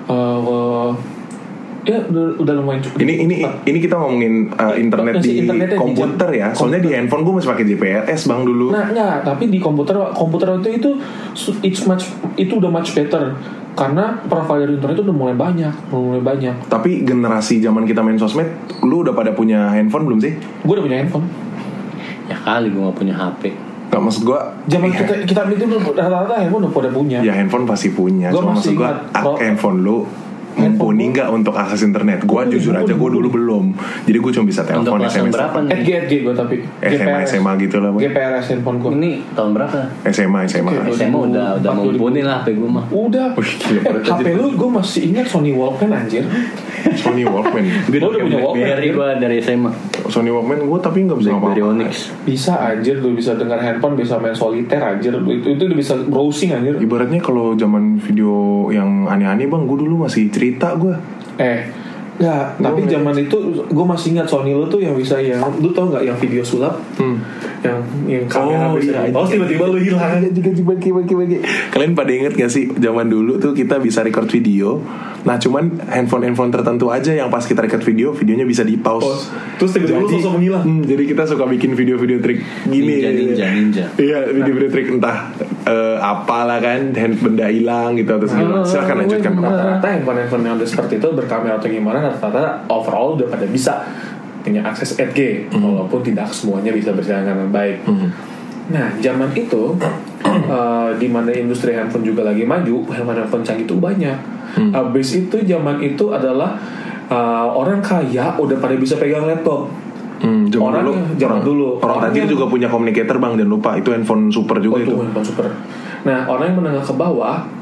ya udah lumayan cukup. Ini kita ngomongin internet di komputer ya. Soalnya di handphone gue masih pakai GPRS bang dulu. Nah enggak, tapi di komputer itu udah much better. Karena provider internet itu udah mulai banyak. Tapi generasi zaman kita main sosmed, lu udah pada punya handphone belum sih? Gue udah punya handphone. Ya kali gue gak punya HP. Gak, maksud gue zaman kita itu rata-rata handphone udah pada punya. Ya handphone pasti punya. Cuma maksud gue handphone lu mumpuni nggak untuk akses internet? Gue jujur aja gue dulu belum. Jadi gue cuma bisa telepon, SMS. Berapa nih? Edge gue tapi SMA gitu lah. GPRS handphone gue. Ini tahun berapa? SMA udah mumpuni lah HP gue mah. Udah. HP lu gue masih ingat Sony Walkman anjir. Sony Walkman. Gue udah punya Walkman. Dari SMA. Sony Walkman gue tapi nggak bisa apa-apa. Bisa anjir, lu bisa dengar handphone, bisa main soliter anjir. Itu udah bisa browsing anjir. Ibaratnya kalau zaman video yang aneh-aneh bang, gue dulu masih cerita gue. Enggak, tapi zaman itu gue masih ingat Sony lu tuh yang bisa lu tau nggak yang video sulap, yang kamera bisa. Tiba-tiba lu hilang. Bagi. Kalian pada inget gak sih zaman dulu tuh kita bisa record video. Nah cuman handphone tertentu aja yang pas kita record videonya bisa di pause. Terus tiba-tiba lu sosok menghilang. Jadi kita suka bikin video-video trik gini. Ninja. Iya, video-video trik entah apalah kan, benda hilang gitu atau segala. Silakan lanjutkan. Rata-rata handphone yang udah seperti itu berkamera atau gimana, rata-rata overall udah pada bisa punya akses 8G, walaupun tidak semuanya bisa berjalan dengan baik. Nah, zaman itu di mana industri handphone juga lagi maju, handphone canggih itu banyak. Abis itu zaman itu adalah orang kaya udah pada bisa pegang laptop. Zaman dulu orang tajir juga punya communicator bang, jangan lupa itu handphone super juga. Itu handphone super. Nah, orang yang menengah ke bawah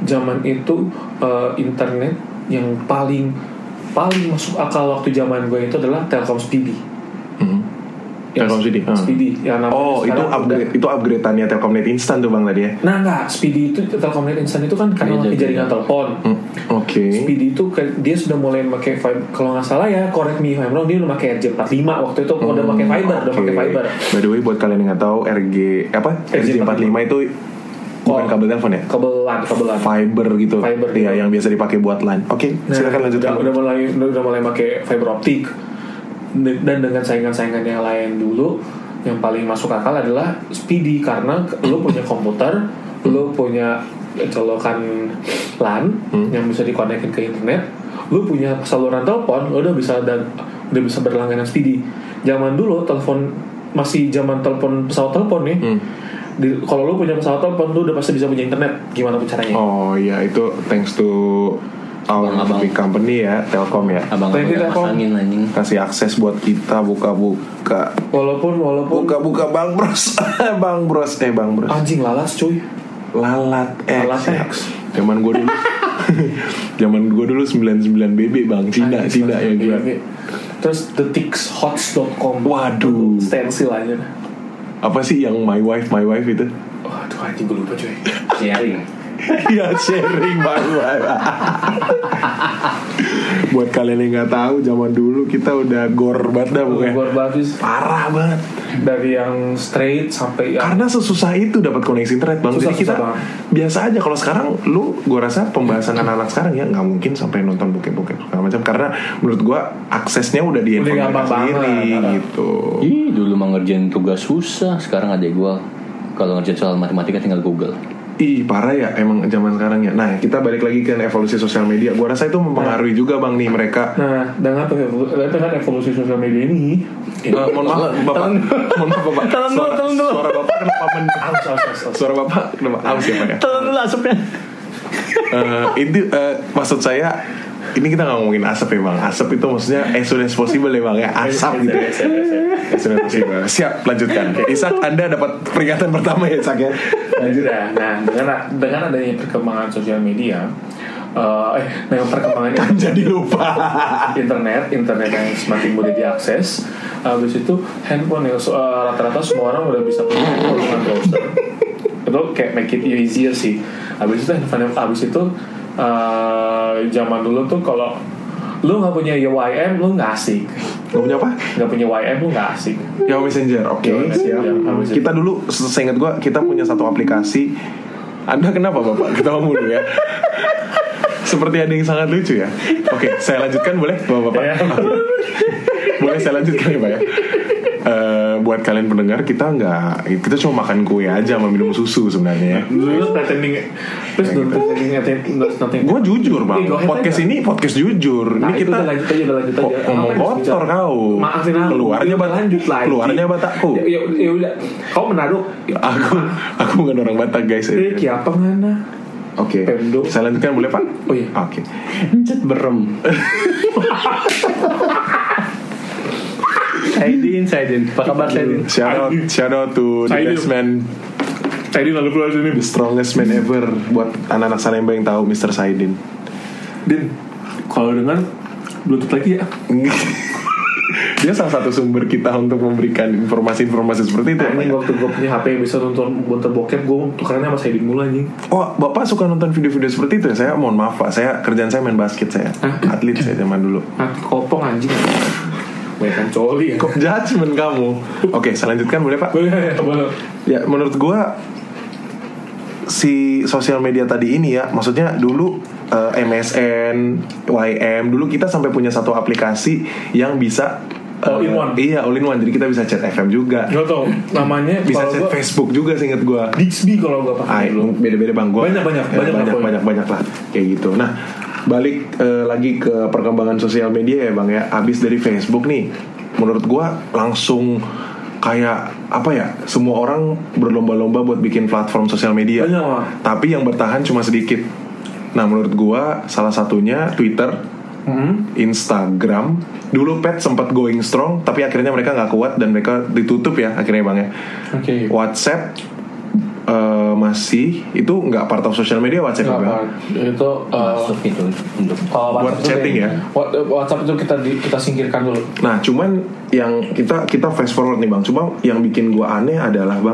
zaman itu internet yang paling masuk akal waktu zaman gue itu adalah Telkom Speedy. Telkom Speedy. Speedy yang namanya itu upgrade-annya Telkomnet Instan tuh Bang tadi ya. Nah enggak, Speedy itu Telkomnet Instan itu kan karena pakai jaringan telepon. Oke. Speedy itu dia sudah mulai pakai fiber, kalau nggak salah ya, correct me if I'm wrong, dia udah pakai RJ45 waktu itu udah pakai fiber, By the way buat kalian yang nggak tahu RJ45 itu bukan kabel telepon ya? Kabelan. Fiber gitu. Iya, yang biasa dipakai buat LAN. Oke, silakan lanjutkan. Udah mulai pakai fiber optik. Dan dengan saingan-saingan yang lain dulu, yang paling masuk akal adalah Speedy karena lu punya komputer, lu punya colokan LAN yang bisa dikonekin ke internet, lu punya saluran telepon, lu udah bisa berlangganan Speedy. Zaman dulu telepon masih zaman pesawat telepon nih. Kalau lu punya pesawat telepon, lu udah pasti bisa punya internet. Gimana caranya? Oh iya, itu thanks to our big company ya, Telkom ya. Abang-abang angin anjing. Kasih akses buat kita buka-buka. Walaupun buka-buka Bang Bros. Bang Bros. Anjing lalas cuy. Lalat X. Zaman gue dulu 99 BB Bang, Cina yang jual. Terus thetixhots.com. Waduh. Stensil aja. Apa sih yang my wife itu? Waduh anjing gue lupa cuy. Sharing. Ya sharing baru. Buat kalian yang nggak tahu, zaman dulu kita udah gor banget dah pokoknya. Gor banget, parah banget. Dari yang straight sampai yang... Karena sesusah itu dapat koneksi internet Bang. Jadi kita biasa aja. Kalau sekarang gue rasa pembahasan anak-anak sekarang ya nggak mungkin sampai nonton bokep segala macam. Karena menurut gue aksesnya udah di handphone mereka sendiri gitu. Dulu mah ngerjain tugas susah. Sekarang adek gue kalau ngerjain soal matematika tinggal Google. Parah ya emang zaman sekarang ya. Nah kita balik lagi ke evolusi sosial media. Gue rasa itu mempengaruhi juga Bang nih mereka. Nah dengan evolusi sosial media ini mohon maaf Bapak. Tolong dulu. Suara Bapak kenapa Suara Bapak kenapa aus ya Pak ya? Tolong dulu asapnya. Itu maksud saya, ini kita gak ngomongin asap ya Bang. Asap itu maksudnya as soon as possible ya Bang ya. Asap gitu. As soon as possible. Siap, lanjutkan. Isak, Anda dapat peringatan pertama ya Isak ya. Lanjut ya. Nah dengan adanya perkembangan sosial media, dengan perkembangan jadi lupa. internet yang semakin mudah diakses. Habis itu handphone yang rata-rata semua orang udah bisa punya handphone dengan browser. Itu kayak make it easier sih. Habis itu zaman dulu tuh kalau lu nggak punya YM lu nggak asik. Nggak punya apa? Nggak punya YM lu nggak asik. Yahoo Messenger, oke. Siap. Kita dulu, seingat gue, kita punya satu aplikasi. Anda kenapa Bapak? Ketawa mulu ya. Seperti ada yang sangat lucu ya. Oke, saya lanjutkan boleh Bapak? Boleh saya lanjutkan ya Pak ya. Buat kalian pendengar, kita cuma makan kue aja sama minum susu sebenarnya. Gue jujur Bang, podcast ini podcast jujur. Ini kita lanjut aja. Ngomong kotor kau. Maafin aku. Keluarnya Batakku. Ya udah. Kau Manado. Aku bukan orang Batak guys. Apa ngana? Oke. Saya lanjutkan boleh Pak? Oh iya. Oke. Encet berem. Saidin. Apa kabar Saidin? Shout out to the best man. Saidin lalu keluar sini. The strongest man ever. Buat anak-anak Salemba yang tahu Mr. Saidin. Din, kalau dengar Bluetooth lagi ya. Dia salah satu sumber kita untuk memberikan informasi-informasi seperti itu. Ini waktu gue punya HP yang bisa nonton bokep, gue tukerannya sama Saidin mulu anjing. Oh, Bapak suka nonton video-video seperti itu ya? Saya mohon maaf Pak, kerjaan saya main basket saya. Atlet saya zaman dulu. Kopong anjing. Bukan coli ya. Kok judgement kamu? Oke, saya lanjutkan boleh Pak? Boleh. Ya, menurut gue si sosial media tadi ini ya, maksudnya dulu MSN, YM, dulu kita sampai punya satu aplikasi yang bisa all in one. Iya, all in one. Jadi kita bisa chat FM juga. Gak tau namanya. Bisa chat Facebook juga seinget gue. Bixby kalau gue pakai dulu. Beda-beda Bang. Banyak lah kayak gitu. Nah, balik lagi ke perkembangan sosial media ya Bang ya. Abis dari Facebook nih, menurut gue langsung kayak apa ya, semua orang berlomba-lomba buat bikin platform sosial media. Banyak. Tapi yang bertahan cuma sedikit. Nah menurut gue salah satunya Twitter, Instagram. Dulu Pet sempat going strong, tapi akhirnya mereka nggak kuat dan mereka ditutup ya akhirnya Bang ya. Okay. WhatsApp masih itu nggak part of social media WhatsApp ya? Itu Masuk itu untuk kalau buat WhatsApp chatting itu, ya? WhatsApp itu kita singkirkan dulu. Nah, cuman yang kita fast forward nih bang. Cuma yang bikin gue aneh adalah bang,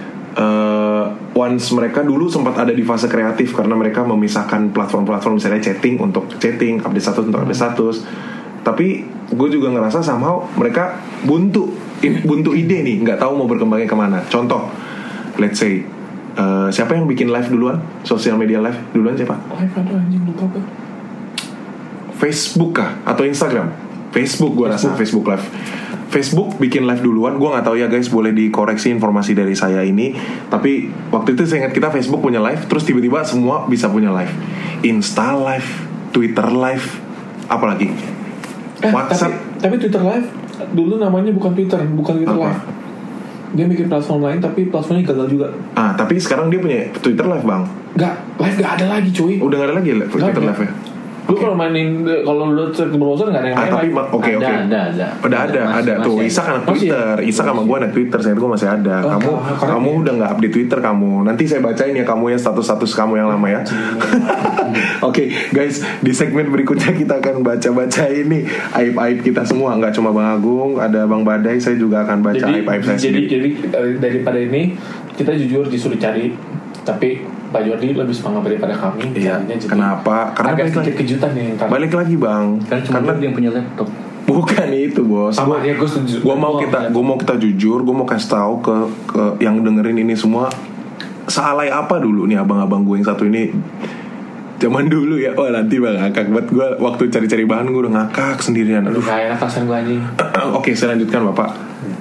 once mereka dulu sempat ada di fase kreatif karena mereka memisahkan platform-platform misalnya chatting untuk chatting, update status untuk update status. Tapi gue juga ngerasa somehow mereka buntu ide nih, nggak tahu mau berkembangnya kemana. Contoh, let's say siapa yang bikin live duluan? Sosial media live duluan siapa? Live ada anjing lupa apa? Facebook kah? Atau Instagram? Facebook gue rasa Facebook live. Facebook bikin live duluan. Gue nggak tahu ya guys, boleh dikoreksi informasi dari saya ini. Tapi waktu itu saya ingat kita Facebook punya live, terus tiba-tiba semua bisa punya live. Insta live, Twitter live, apalagi WhatsApp. Tapi Twitter live dulu namanya bukan Twitter Apa? live. Dia bikin platform lain tapi platformnya gagal juga. Tapi sekarang dia punya Twitter live bang. Live gak ada lagi cuy. Udah nggak ada lagi Twitter Nggak live ya? Lu kalau lu cek browser nggak ada yang main Tapi live. oke. Ada tuh. Masih Isa kan Masih Twitter. Isa sama gue ada Twitter. Saya gue masih ada. Kamu udah nggak update Twitter kamu. Nanti saya bacain ya kamu ya status kamu yang lama ya. Oke, guys, di segmen berikutnya kita akan baca ini aib-aib kita semua. Nggak cuma Bang Agung, ada Bang Badai. Saya juga akan baca aib-aib saya sendiri. Jadi daripada ini kita jujur disuruh cari, tapi Pak Jordi lebih semangat daripada kami. Iya. Jadi Kenapa? Karena agak balik sedikit lagi. kejutan nih. Balik lagi bang. Karena dia yang punya laptop. Bukan itu bos. Sama ya, gue setuju. Gue mau kita jujur. Gue mau kasih tahu ke yang dengerin ini semua, sealay apa dulu nih abang-abang gue yang satu ini. Zaman dulu ya. Oh nanti bang ngakak buat gue waktu cari-cari bahan gue udah ngakak sendirian. Aduh. Gak enak rasain gue anjing. Oke, saya lanjutkan bapak.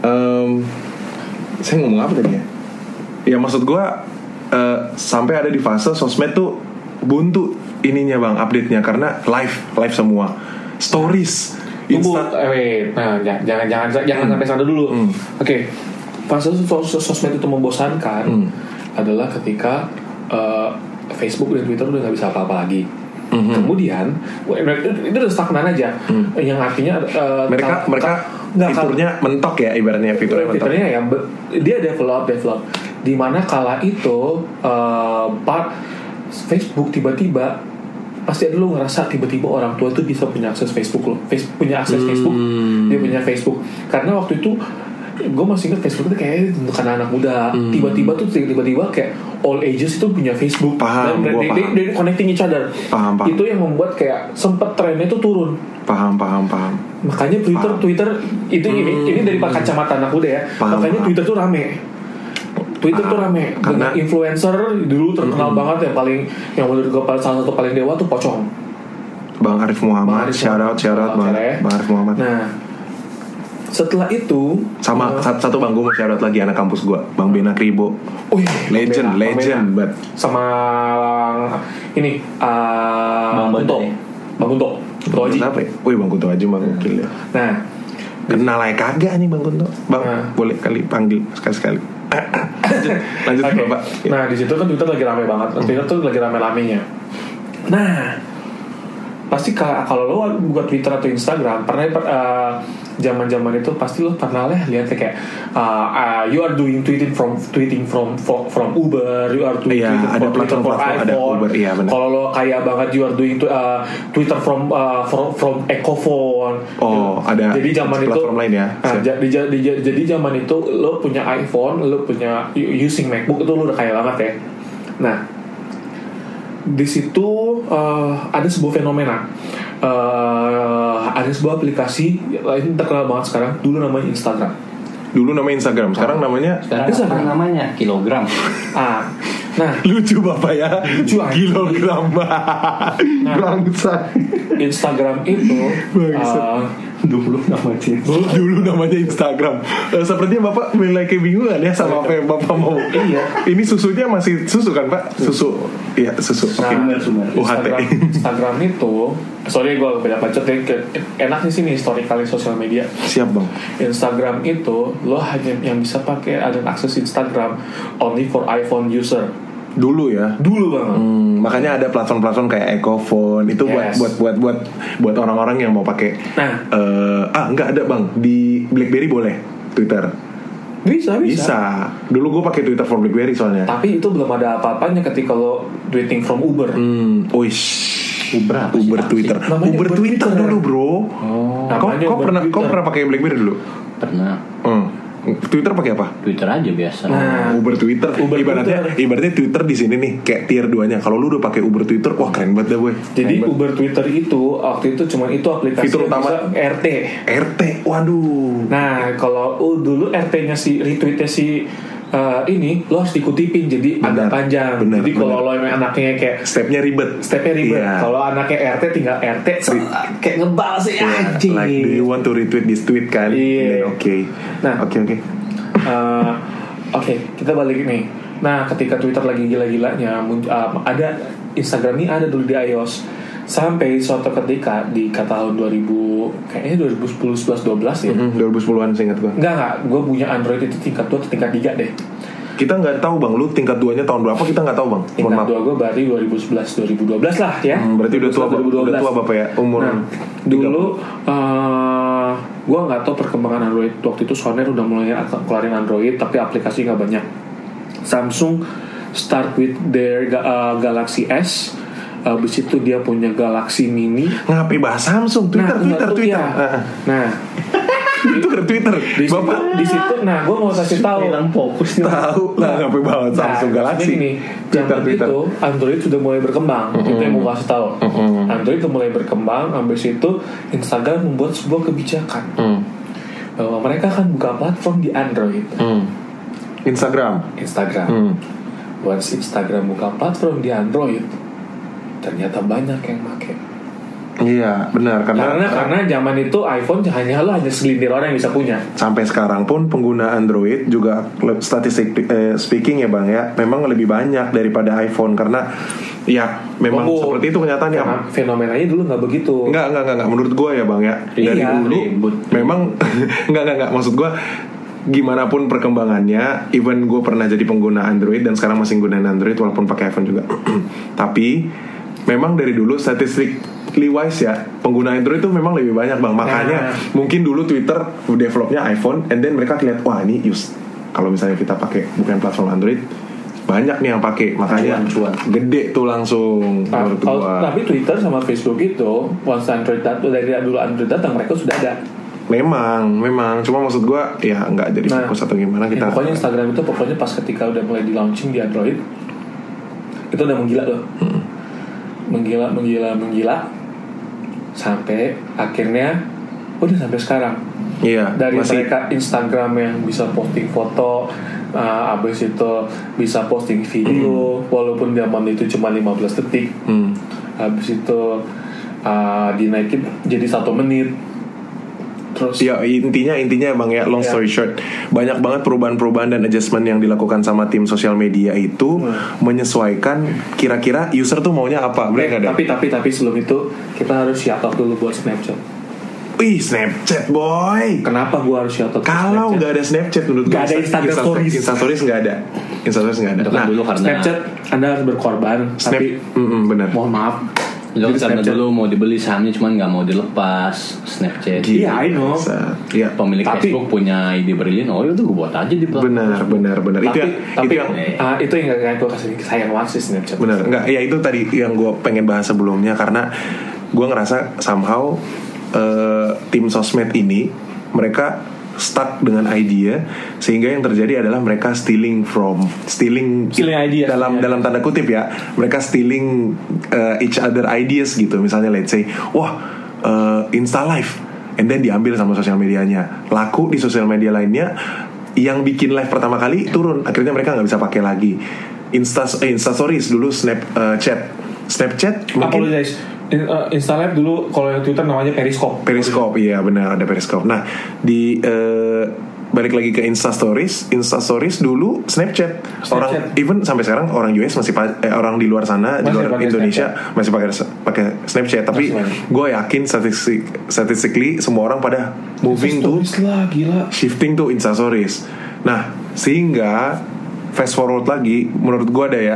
Saya ngomong apa tadi ya? Ya maksud gue sampai ada di fase sosmed tuh buntu ininya bang, update-nya karena live semua, stories. Nah, jangan sampai sana dulu. Oke. Fase sosmed itu membosankan adalah ketika Facebook dan Twitter udah nggak bisa apa-apa lagi. Kemudian itu udah stagnan aja. Yang artinya mereka fiturnya mentok ya, ibaratnya fiturnya mentok. Fiturnya ya dia develop di mana kala itu Facebook tiba-tiba pasti ada lo ngerasa tiba-tiba orang tua tuh bisa punya akses Facebook lo, punya akses Facebook, dia punya Facebook karena waktu itu gue masih ingat Facebook itu kayak untuk anak muda, tiba-tiba kayak all ages itu punya Facebook. Paham, dan they connecting each other. Paham. Itu yang membuat kayak sempet trennya itu turun. Paham. Makanya Twitter itu ini dari kacamata anak muda ya. Makanya Twitter tuh rame karena influencer dulu terkenal banget yang menurut gue salah satu paling dewa tuh Pocong, Bang Arif Muhammad. Shout out Bang Arif Muhammad. Nah setelah itu sama satu bang, gue mau shout out lagi anak kampus gue, Bang Bena Kribo. Legend banget. Sama ini Bang Kunto Aji. Kenapa ya? Bang Kunto Aji mah gokil ya. Nah kenal aja kagak nih Bang Kunto. Bang boleh kali panggil sekali. Lanjut okay. Bapak. Nah di situ kan Twitter lagi rame banget. Twitter tuh lagi rame-ramenya. Nah pasti kalau lo buka Twitter atau Instagram pernah zaman-zaman itu pasti lo pernah lihat kayak you are doing tweeting from Uber, you are doing ada Twitter from iPhone. Kalau lo kaya banget you are doing Twitter from Ecophone. Ada jadi zaman platform itu lain ya. Jadi zaman itu lo punya iPhone, lo punya using MacBook itu lo udah kaya banget ya. Nah di situ ada sebuah fenomena, ada sebuah aplikasi lain terkenal banget sekarang. Dulu namanya Instagram. Sekarang namanya namanya Kilogram. Nah lucu bapak ya. Kilogram. Bangsa. Instagram itu dulu namanya Instagram. Sepertinya bapak mulai kebingungan ya sama apa yang bapak mau. Iya. Ini susunya masih susu kan pak? Susu. Iya susu. Sumber. Instagram itu, sorry gue beda bacot ya. Enak nih sini historically sosial media. Siap bang. Instagram itu lo hanya yang bisa pakai ada akses Instagram only for iPhone user. Dulu banget. Makanya ada platform-platform kayak Ecophone itu buat orang-orang yang mau pakai. Enggak ada bang, di BlackBerry boleh Twitter. Bisa. Dulu gue pakai Twitter for BlackBerry soalnya. Tapi itu belum ada apa-apanya ketika lo tweeting from Uber. Uber Twitter. Namanya Uber Twitter dulu, bro. Kau pernah pakai BlackBerry dulu? Pernah. Twitter pakai apa? Twitter aja biasa. Uber Twitter. Ibaratnya Twitter di sini nih kayak tier 2-nya. Kalau lu udah pakai Uber Twitter, wah keren banget dah, boy. Jadi Uber Twitter itu waktu itu cuma itu aplikasi fitur utama RT. Waduh. Nah, kalau dulu RT-nya si retweetnya si ini lo harus dikutipin jadi agak panjang. Jadi kalau lo emang anaknya kayak stepnya ribet. Yeah. Kalau anaknya RT tinggal RT kayak ngebal sih anjing. Like do you want to retweet this tweet kan? Oke. Nah, oke, kita balik nih. Nah, ketika Twitter lagi gila-gilanya ada Instagram ini ada dulu di iOS. Sampai suatu ketika di tahun 2010, 11, 12 ya. 2010-an seingat gue. Enggak, gue punya Android itu tingkat 2 atau tingkat 3 deh. Kita nggak tahu bang, lu tingkat 2-nya tahun berapa kita nggak tahu bang. Tingkat 2 gue berarti 2011, 2012 lah ya. Berarti udah tua bapak ya umur. Nah, dulu gue nggak tahu perkembangan Android waktu itu. Soner udah mulai keluarin Android, tapi aplikasi nggak banyak. Samsung start with their Galaxy S. Abis itu dia punya Galaxy Mini. Ngapain bahas Samsung? Twitter. Nah, Twitter. Bapak di situ. Nah, gue mau kasih tahu. Fokus tahu lah ngapain bahas Samsung Galaxy. Ini zaman itu Android sudah mulai berkembang. Itu yang mau kasih tahu. Android sudah mulai berkembang. Abis itu Instagram membuat sebuah kebijakan bahwa mereka akan buka platform di Android. Instagram. Once Instagram buka platform di Android, ternyata banyak yang pakai. Iya benar karena zaman itu iPhone hanya segelintir orang yang bisa punya. Sampai sekarang pun pengguna Android juga statistik speaking ya bang ya, memang lebih banyak daripada iPhone karena ya memang seperti itu kenyataannya. Fenomenanya dulu nggak begitu. Nggak menurut gue ya bang ya. Dari dulu memang nggak maksud gue. Gimana pun perkembangannya, even gue pernah jadi pengguna Android dan sekarang masih gunain Android walaupun pakai iPhone juga. Tapi memang dari dulu statistically wise ya, pengguna Android itu memang lebih banyak bang. Makanya mungkin dulu Twitter developnya iPhone, and then mereka lihat wah ini kalau misalnya kita pakai bukan platform Android, banyak nih yang pakai, makanya gede tuh langsung. Menurut gua. Tapi Twitter sama Facebook itu once Android dari dulu Android datang mereka sudah ada. Memang cuma maksud gue ya nggak jadi fokus atau gimana kita. Pokoknya Instagram itu pas ketika udah mulai di launching di Android itu udah menggila loh. Menggila sampai akhirnya udah sampai sekarang. Iya. Dari mereka Instagram yang bisa posting foto, abis itu bisa posting video walaupun zaman itu cuma 15 detik. Abis itu dinaikin jadi 1 menit. Terus ya intinya bang ya, long story short, banyak banget perubahan dan adjustment yang dilakukan sama tim sosial media itu menyesuaikan kira-kira user tuh maunya apa. Tapi sebelum itu kita harus shout out dulu buat Snapchat. Wih, Snapchat boy. Kenapa gua harus shout out? Kalau nggak ada Snapchat menurut gue, nggak ada Insta Stories nggak ada. Nah, dulu karena Snapchat Anda harus berkorban. Tapi benar. Mohon maaf. Lo karena dulu mau dibeli sahamnya cuman nggak mau dilepas Snapchat. Iya, I know. Iya. Pemilik Facebook punya ide brilian, itu gue buat aja di platform. Benar. Itu yang nggak gue kasih sayang banget sih Snapchat. Benar, nggak? Ya itu tadi yang gue pengen bahas sebelumnya karena gue ngerasa somehow tim sosmed ini mereka stuck dengan idea sehingga yang terjadi adalah mereka stealing idea dalam tanda kutip ya, mereka stealing each other ideas gitu. Misalnya let's say Insta Live, and then diambil sama sosial medianya, laku di sosial media lainnya, yang bikin live pertama kali turun, akhirnya mereka nggak bisa pakai lagi. Insta Stories dulu, Snapchat mungkin Insta Live dulu, kalau yang Twitter namanya Periscope. Iya benar, ada Periscope. Nah di balik lagi ke Insta Stories dulu Snapchat. Orang even sampai sekarang orang US masih orang di luar sana, di luar Indonesia masih pakai Snapchat. Tapi gue yakin statistically semua orang pada moving to shifting to Insta Stories. Nah sehingga fast forward lagi, menurut gue ada ya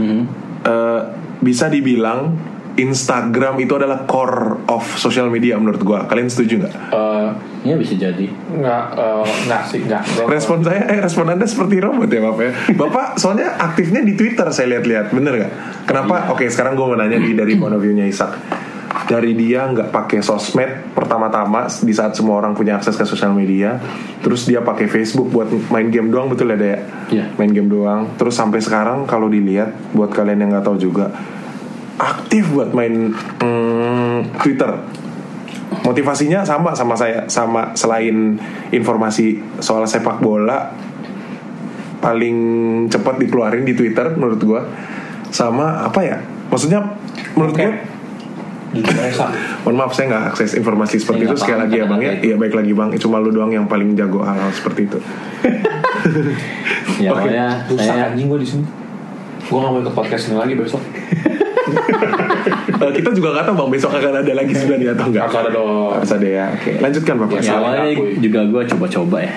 bisa dibilang Instagram itu adalah core of social media menurut gue. Kalian setuju nggak? Ya bisa jadi. Enggak sih. Respon Anda seperti robot ya Bapak ya. Bapak soalnya aktifnya di Twitter saya lihat-lihat, bener gak? Kenapa? Oke, sekarang gue mau nanya dari point of view-nya Ishak. Dari dia nggak pakai sosmed pertama-tama di saat semua orang punya akses ke sosial media, terus dia pakai Facebook buat main game doang, betul ya Daya? Iya. Main game doang. Terus sampai sekarang kalau dilihat, buat kalian yang nggak tahu juga, aktif buat main Twitter. Motivasinya sama saya, sama selain informasi soal sepak bola paling cepat dikeluarin di Twitter menurut gue, sama apa ya? Maksudnya menurut gue, mohon maaf saya nggak akses informasi seperti itu sekali lagi ya Bang ya. Iya baik lagi Bang, cuma lu doang yang paling jago hal-hal seperti itu. Ya pokoknya saya anjing gue di sini. Gue nggak mau ikut podcast ini lagi besok. Kita juga nggak tahu Bang besok akan ada lagi sebenarnya atau enggak. Harus ada dong. Harus ada ya. Oke, lanjutkan Bapak. ya awalnya juga gue coba-coba ya.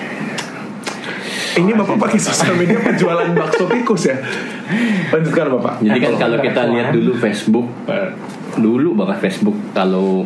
Ini Bapak pakai sosial media penjualan bakso tikus ya. Lanjutkan Bapak. Jadi kan kalau kita lihat dulu Facebook, dulu banget Facebook kalau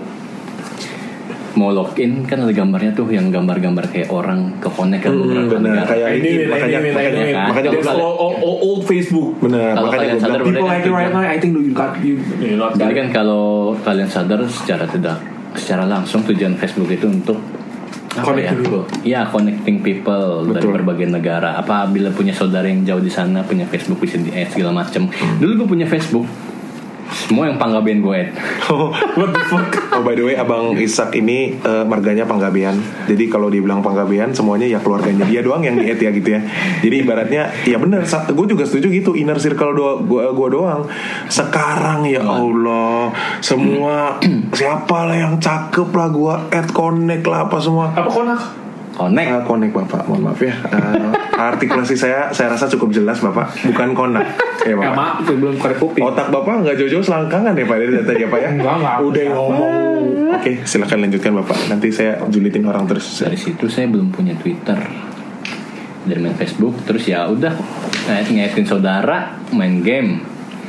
mau login kan ada gambarnya tuh yang gambar-gambar kayak orang ke connect ke beberapa negara. Kayak ini makanya old Facebook. Benar, Kalau makanya kalian sadar People like it right now, I think you got you. Jadi kan kalau kalian sadar secara langsung tujuan Facebook itu untuk Connecting people. Iya, connecting people dari berbagai negara. Apabila punya saudara yang jauh di sana punya Facebook bisa di add segala macam. Dulu gue punya Facebook, semua yang Panggabean gue add. What the fuck? Oh by the way Abang Ishak ini marganya Panggabean. Jadi kalau dibilang Panggabean semuanya ya keluarganya dia doang yang di-add ya gitu ya. Jadi ibaratnya ya bener, gue juga setuju gitu, inner circle gue doang. Sekarang ya Allah, semua siapa lah yang cakep lah gue add, connect lah apa semua. Apa konak? Connect Bapak, mohon maaf ya. Artikulasi saya rasa cukup jelas Bapak, bukan konak. Ya Bapak. Maaf, itu belum korek kuping. Otak Bapak nggak jauh-jauh selangkangan ya Pak dari tadi ya Pak ya. Enggak. Udah ngomong. Oke, silakan lanjutkan Bapak. Nanti saya julitin orang terus. Dari situ saya belum punya Twitter, dari main Facebook. Terus ya udah ngaitin saudara, main game.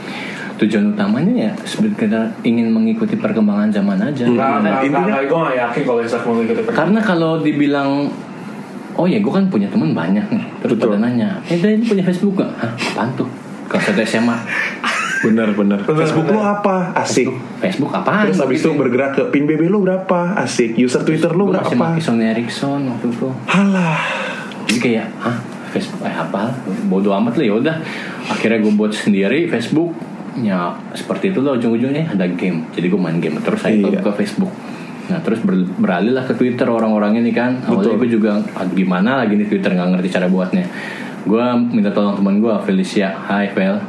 Tujuan utamanya ya sebenarnya ingin mengikuti perkembangan zaman aja. Intinya gue gak yakin kalau Ishak mau ikut perkembangan. Karena kalau dibilang oh ya gue kan punya teman banyak nih, terus pada nanya, ini punya Facebook gak? Hah, apaan tuh? Kalau satu SMA. Bener. Facebook lu apa? Asik. Facebook apaan? Terus habis itu bergerak ke pin BB lu berapa? Asik. User Twitter lu berapa? Gue masih pakai Sony Ericsson waktu itu. Halah. Jadi kayak Facebook apa? Bodoh amat lah, ya udah. Akhirnya gue buat sendiri Facebook. Ya seperti itu loh, ujung-ujungnya ada game. Jadi gue main game terus saya ke Facebook. Nah terus beralih lah ke Twitter orang-orang ini kan. Awalnya gue juga gimana lagi nih Twitter, nggak ngerti cara buatnya. Gue minta tolong teman gue Felicia. Hai Fel.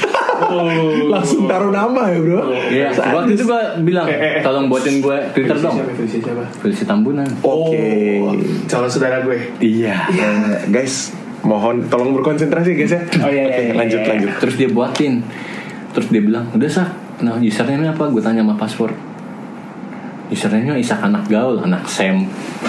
Langsung taruh nama ya bro. Iya. Waktu itu gue bilang tolong buatin gue Twitter dong. Felicia Tambunan. Oke. Calon saudara gue. Iya. Guys, mohon tolong berkonsentrasi guys ya. Oh iya. Lanjut. Terus dia buatin. Terus dia bilang, udah Sak, nah username apa? Gue tanya sama password. Username-nya Ishak anak gaul, anak Sam.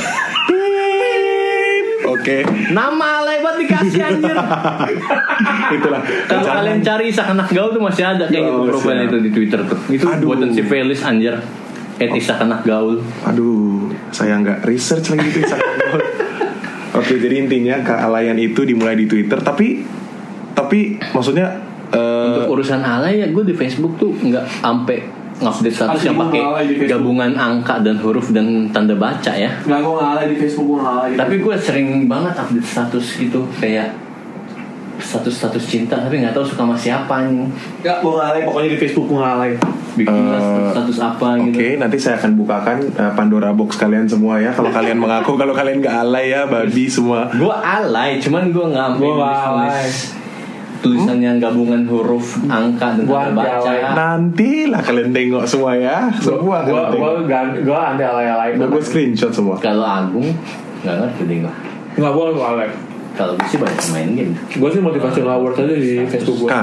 Oke. Nama alay banget dikasih anjir. Itulah. Kalau kalian cari Ishak anak gaul tuh masih ada kayak gitu profil itu di Twitter tuh. Itu buatan si Felis anjir. Ishak anak gaul. Aduh, saya nggak research lagi itu Ishak anak gaul. Oke, jadi intinya kealayan itu dimulai di Twitter, tapi maksudnya untuk urusan alay ya gue di Facebook tuh nggak sampai ngupdate status yang pakai gabungan angka dan huruf dan tanda baca ya. Nggak, gue ngalay di Facebook, gue ngalay. Tapi gue sering banget update status gitu, kayak status cinta tapi nggak tahu suka sama siapa nih. Nggak, gue ngalay, pokoknya di Facebook gue ngalay. Bikin status apa gitu. Oke, nanti saya akan bukakan Pandora box kalian semua ya. Kalau kalian mengaku kalau kalian nggak alay ya, babi semua. Gue alay, cuman gue nggak tulis tulisan yang gabungan huruf, angka dan tanda baca. Nanti lah kalian tengok semua ya. Semua kalian tengok. Gue anti alay-alay. Gue screenshot semua. Kalau Agung nggak ngerti deh gue. Nggak, gue alay. Kalau gue sih banyak main game. Gue sih motivational award aja di Facebook gue.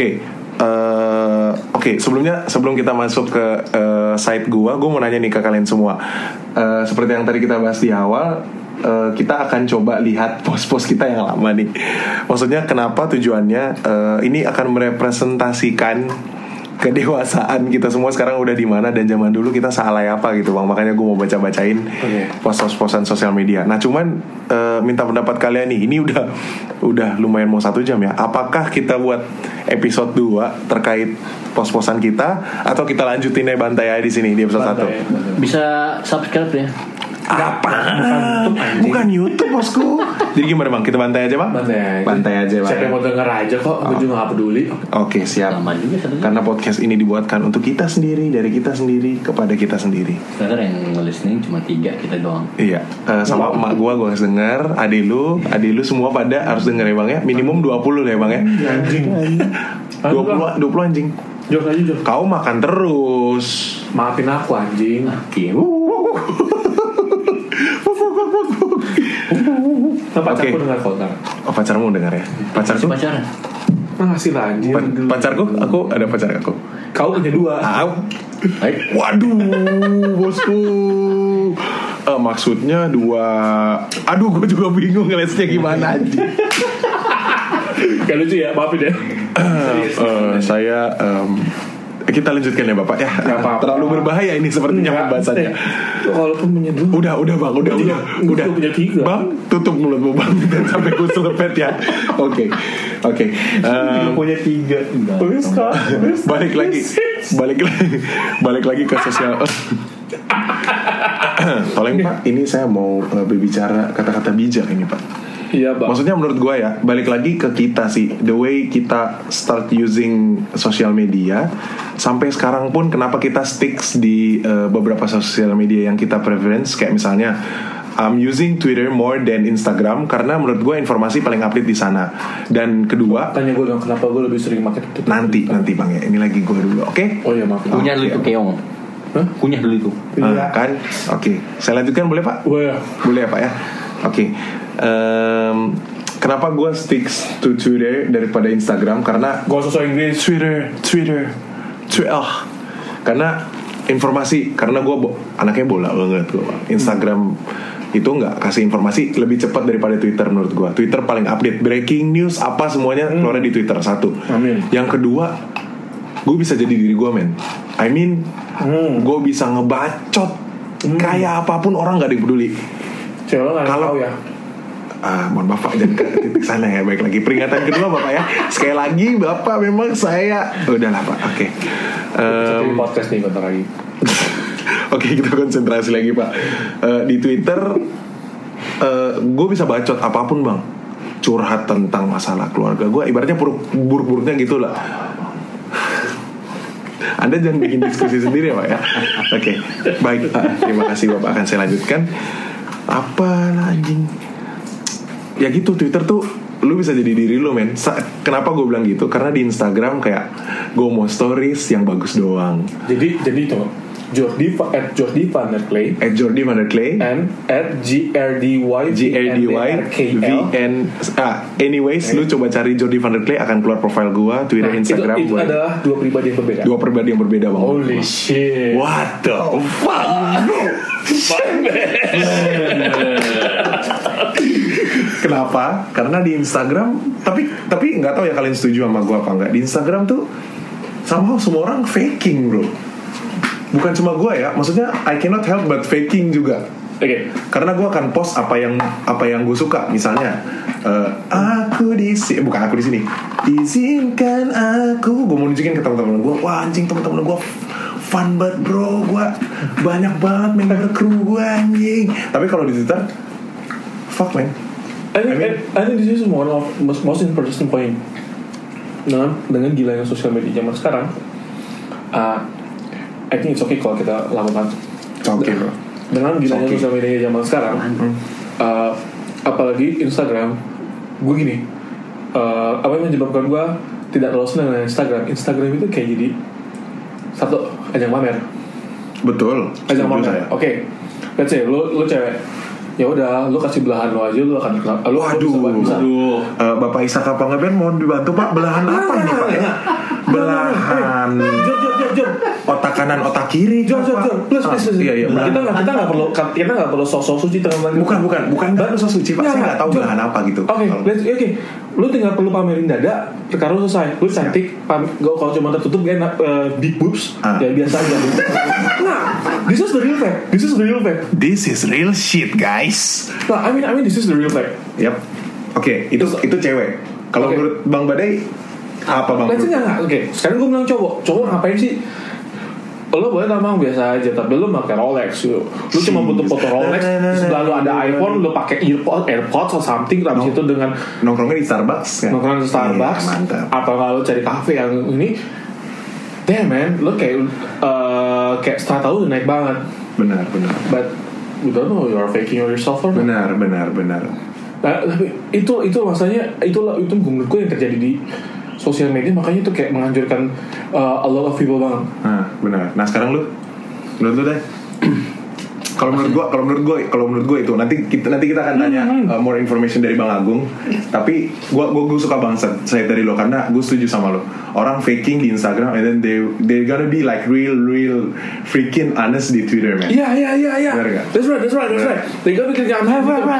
Oke, sebelum kita masuk ke site gue mau nanya nih ke kalian semua. Seperti yang tadi kita bahas di awal, kita akan coba lihat post-post kita yang lama nih. Maksudnya kenapa tujuannya ini akan merepresentasikan kedewasaan kita semua sekarang udah di mana dan zaman dulu kita sealai apa gitu bang. Makanya gue mau bacain post-postan sosial media. Nah cuman minta pendapat kalian nih. Ini udah lumayan mau 1 jam ya. Apakah kita buat episode 2 terkait post-postan kita atau kita lanjutin bantai aja di sini di episode 1? Bisa subscribe ya. Apa? Bukan YouTube bosku. Jadi gimana bang? Kita bantai aja bang? Bantai aja bang. Siapa yang mau denger aja kok. Gue juga gak peduli. Oke siap. Karena podcast ini dibuatkan untuk kita sendiri, dari kita sendiri kepada kita sendiri. Sekarang yang listening cuma 3 kita doang. Iya. Sama emak gue harus denger. Adik lu semua pada harus denger ya bang ya. Minimum 20 lah ya bang ya. Anjing 20 anjing. Jok aja Jok. Kau makan terus. Maafin aku anjing. Pacarku dengar kau ntar. Oh pacarmu dengar ya. Pacarku pacaran. Masih lah anjing. Pacarku, aku ada pacar aku. Kau punya 2. Waduh bosku. Maksudnya 2. Aduh gue juga bingung ngelesnya gimana aja. Gak lucu ya, maafin ya. Saya kita lanjutkan ya bapak ya. Terlalu berbahaya ini sepertinya pembahasannya. Walaupun punya 2. Udah bang, udah. Punya 3. Bang, tutup mulutmu bang dan sampai gue selepet ya. Oke. Punya 3. Balik lagi ke sosial. Tolong pak, ini saya mau berbicara kata-kata bijak ini pak. Iya bang. Maksudnya menurut gue ya, balik lagi ke kita sih, the way kita start using social media sampai sekarang pun kenapa kita sticks di beberapa social media yang kita preference, kayak misalnya I'm using Twitter more than Instagram karena menurut gue informasi paling update di sana. Dan kedua, tanya gue dong kenapa gue lebih sering pakai Twitter. Nanti bang ya, ini lagi gue dulu, oke? Oh iya maaf. Kunyah dulu itu keong. Kunyah dulu itu. Iya. Kan, oke. Saya lanjutkan boleh pak? Boleh ya pak ya. Oke. Kenapa gue sticks to Twitter daripada Instagram? Karena gue sosok Inggris. Twitter. Karena informasi. Karena gue anaknya bola banget gue. Instagram itu nggak kasih informasi lebih cepat daripada Twitter menurut gue. Twitter paling update, breaking news apa semuanya keluar di Twitter. 1. Amin. Yang kedua, gue bisa jadi diri gue men. Gue bisa ngebacot kayak apapun, orang nggak ada yang peduli. Kalau ya. Mohon bapak jangan ke titik sana ya. Baik lagi peringatan kedua bapak ya. Sekali lagi bapak memang saya udahlah pak. Oke. Podcast nih bentar lagi. Oke, kita konsentrasi lagi pak. Di Twitter gue bisa bacot apapun bang. Curhat tentang masalah keluarga gue. Ibaratnya buruk-buruknya gitu lah. Anda jangan bikin diskusi sendiri ya pak ya. Oke. Baik, terima kasih bapak. Akan saya lanjutkan. Apa anjing? Ya gitu, Twitter tuh lu bisa jadi diri lu men. Kenapa gue bilang gitu? Karena di Instagram kayak gue mau stories yang bagus doang. Jadi itu Jordi Van der Clay and @GRDYVN. Anyways, lu coba cari Jordi Van der Clay, akan keluar profile gue, Twitter, Instagram. Itu adalah 2 pribadi yang berbeda. Bang. Holy shit. What the fuck? Kenapa? Karena di Instagram, tapi nggak tahu ya kalian setuju sama gue apa enggak. Di Instagram tuh somehow semua orang faking bro. Bukan cuma gue ya, maksudnya I cannot help but faking juga. Oke. Karena gue akan post apa yang gue suka. Misalnya aku di sini, bukan aku di sini. Izinkan aku, gue mau nunjukin ke teman-teman gue. Wah anjing, teman-teman gue fun banget bro, gue banyak banget member kru gue anjing. Tapi kalau di Twitter, fuck man. I think this is one of most interesting point. Dengan gilanya sosial media zaman sekarang, I think it's okay kalau kita lakukan. Okay bro. Dengan gilanya sosial media zaman sekarang, apalagi Instagram, gue gini, apa yang menyebabkan gue tidak terlalu senang dengan Instagram itu kayak jadi satu ajang pamer. Betul. Ajang pamer. Oke. Let's say lu cewek, ya udah lu kasih belahan lo aja, lu akan lu waduh. bisa. Bapak Isaka Panggabean mohon dibantu pak, belahan apa ini pak ya? belahan Jor. otak kanan otak kiri. Jor. Plus. Iya. Kita nggak perlu sosok suci teman. Bukan dan sosok suci, Pak. Saya nggak tahu belahan apa gitu. Oke. Lu tinggal perlu pamerin dada, perkara lu selesai. Lu cantik, kalau cuma tertutup gak enak, big boobs, ya biasa aja. Nah, this is the real fact. This is real shit, guys. Nah, I mean this is the real fact. Yap. Oke, itu cewek. Kalau menurut Bang Badai apa Bang? Let's enggak. Oke, sekarang gue bilang cowok ngapain sih? Lo boleh tampang biasa aja, tapi lo pakai Rolex gitu. Lo cuma butuh foto Rolex, setelah lo ada iPhone, lo pakai AirPods atau something, habis itu dengan nongkrongnya di Starbucks kan? Nongkrong di Starbucks, atau kalau cari kafe yang ini, damn man, lo kayak setelah tahu udah naik banget. Benar. But you don't know you are faking yourself or not. Benar. Nah, tapi itu maksudnya itu menurut gue yang terjadi di sosial media, makanya itu kayak menghancurkan a lot of people banget. Nah, benar. Nah, sekarang menurut lu deh. Kalau menurut gue itu nanti kita akan tanya more information dari Bang Agung. Tapi gue suka banget saya dari lo karena gue setuju sama lo. Orang faking di Instagram and then they gonna be like real freaking honest di Twitter, man. Iya. Benar gak? That's right. They gonna bikin right.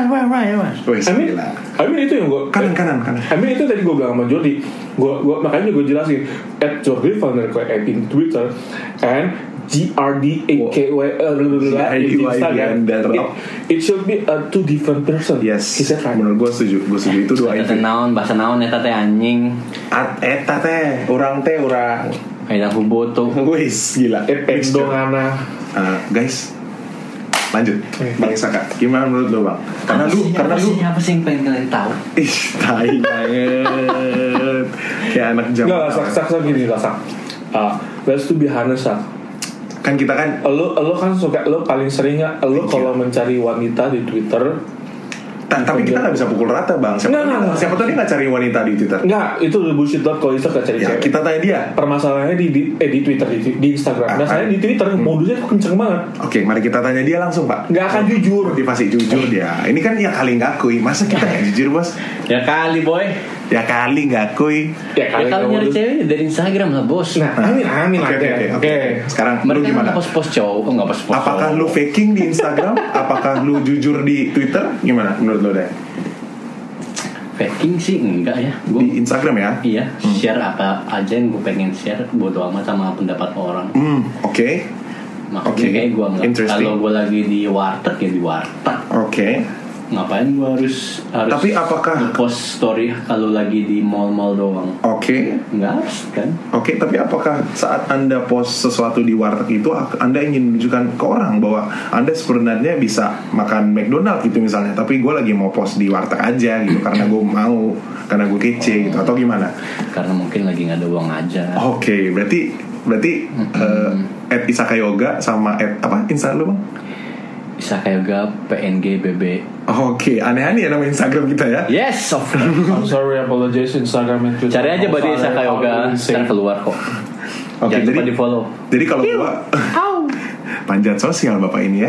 I mean itu yang gue kanan. I mean itu tadi gue bilang sama Jordi. Gue makanya gue jelasin @Jordi Vanderkoy in Twitter and GRDAKY di Instagram. It should be a two different person. Yes. Is that right? Menurut gue setuju itu dua itu. Bahasa naon eta teh anjing. Eta teh urang. Kayak huboto. Wis gila. Pendongana. Guys. Lanjut. Bang Saka. Gimana menurut lo, Bang? Karena lu apa sih yang pengen kalian tahu? Ih, tai banget. Kayak anak zaman. Enggak, sak gini lah, sak. Let's to be honest, sak. Kan kita kan lo kan suka, lo paling sering nggak lo kalau mencari wanita di Twitter tapi kita nggak bisa pukul rata Bang. Siapa tahu dia nggak cari wanita di Twitter. Nggak, itu bullshit banget kalau Insta nggak cari cewek. Kita tanya dia. Permasalahannya di Twitter, di Instagram. Masalahnya di Twitter modusnya kenceng banget. Oke, mari kita tanya dia langsung Pak. Nggak akan jujur. Motivasi jujur dia. Ini kan ya kali ngakui. Masa kita nggak jujur bos? Ya kali boy. Ya kali ngakui. Ya kalau nyari cewek dari Instagram lah bos. Nah, amin. Oke. Sekarang mereka lu gimana? Post cowok, nggak post. Apakah lu faking di Instagram? Apakah lu jujur di Twitter? Gimana menurut lu deh? Faking sih enggak ya. Gua, di Instagram ya? Iya. Share apa aja yang gue pengen share, bodo amat sama pendapat orang. Oke. Makanya kayak gue nggak. Kalau gue lagi di warteg ya di warteg. Oke. Ngapain gue harus tapi apakah post story kalau lagi di mall doang? Oke. Nggak harus kan? Oke, tapi apakah saat Anda post sesuatu di warteg itu Anda ingin menunjukkan ke orang bahwa Anda sebenarnya bisa makan McDonald gitu misalnya, tapi gue lagi mau post di warteg aja gitu karena gue mau, karena gue kece gitu, atau gimana? Karena mungkin lagi nggak ada uang aja. Oke, berarti @Isaka Yoga sama apa Instagram lu Bang? Isaka Yoga PNG BB. Oke, aneh-aneh ya nama Instagram kita ya. Yes, of course. I'm sorry, apologize Instagram and Twitter. Cari aja Badi Isaka Yoga, ntar keluar kok. Oke, jangan lupa di follow. Jadi kalau gua panjat sosial bapak ini ya.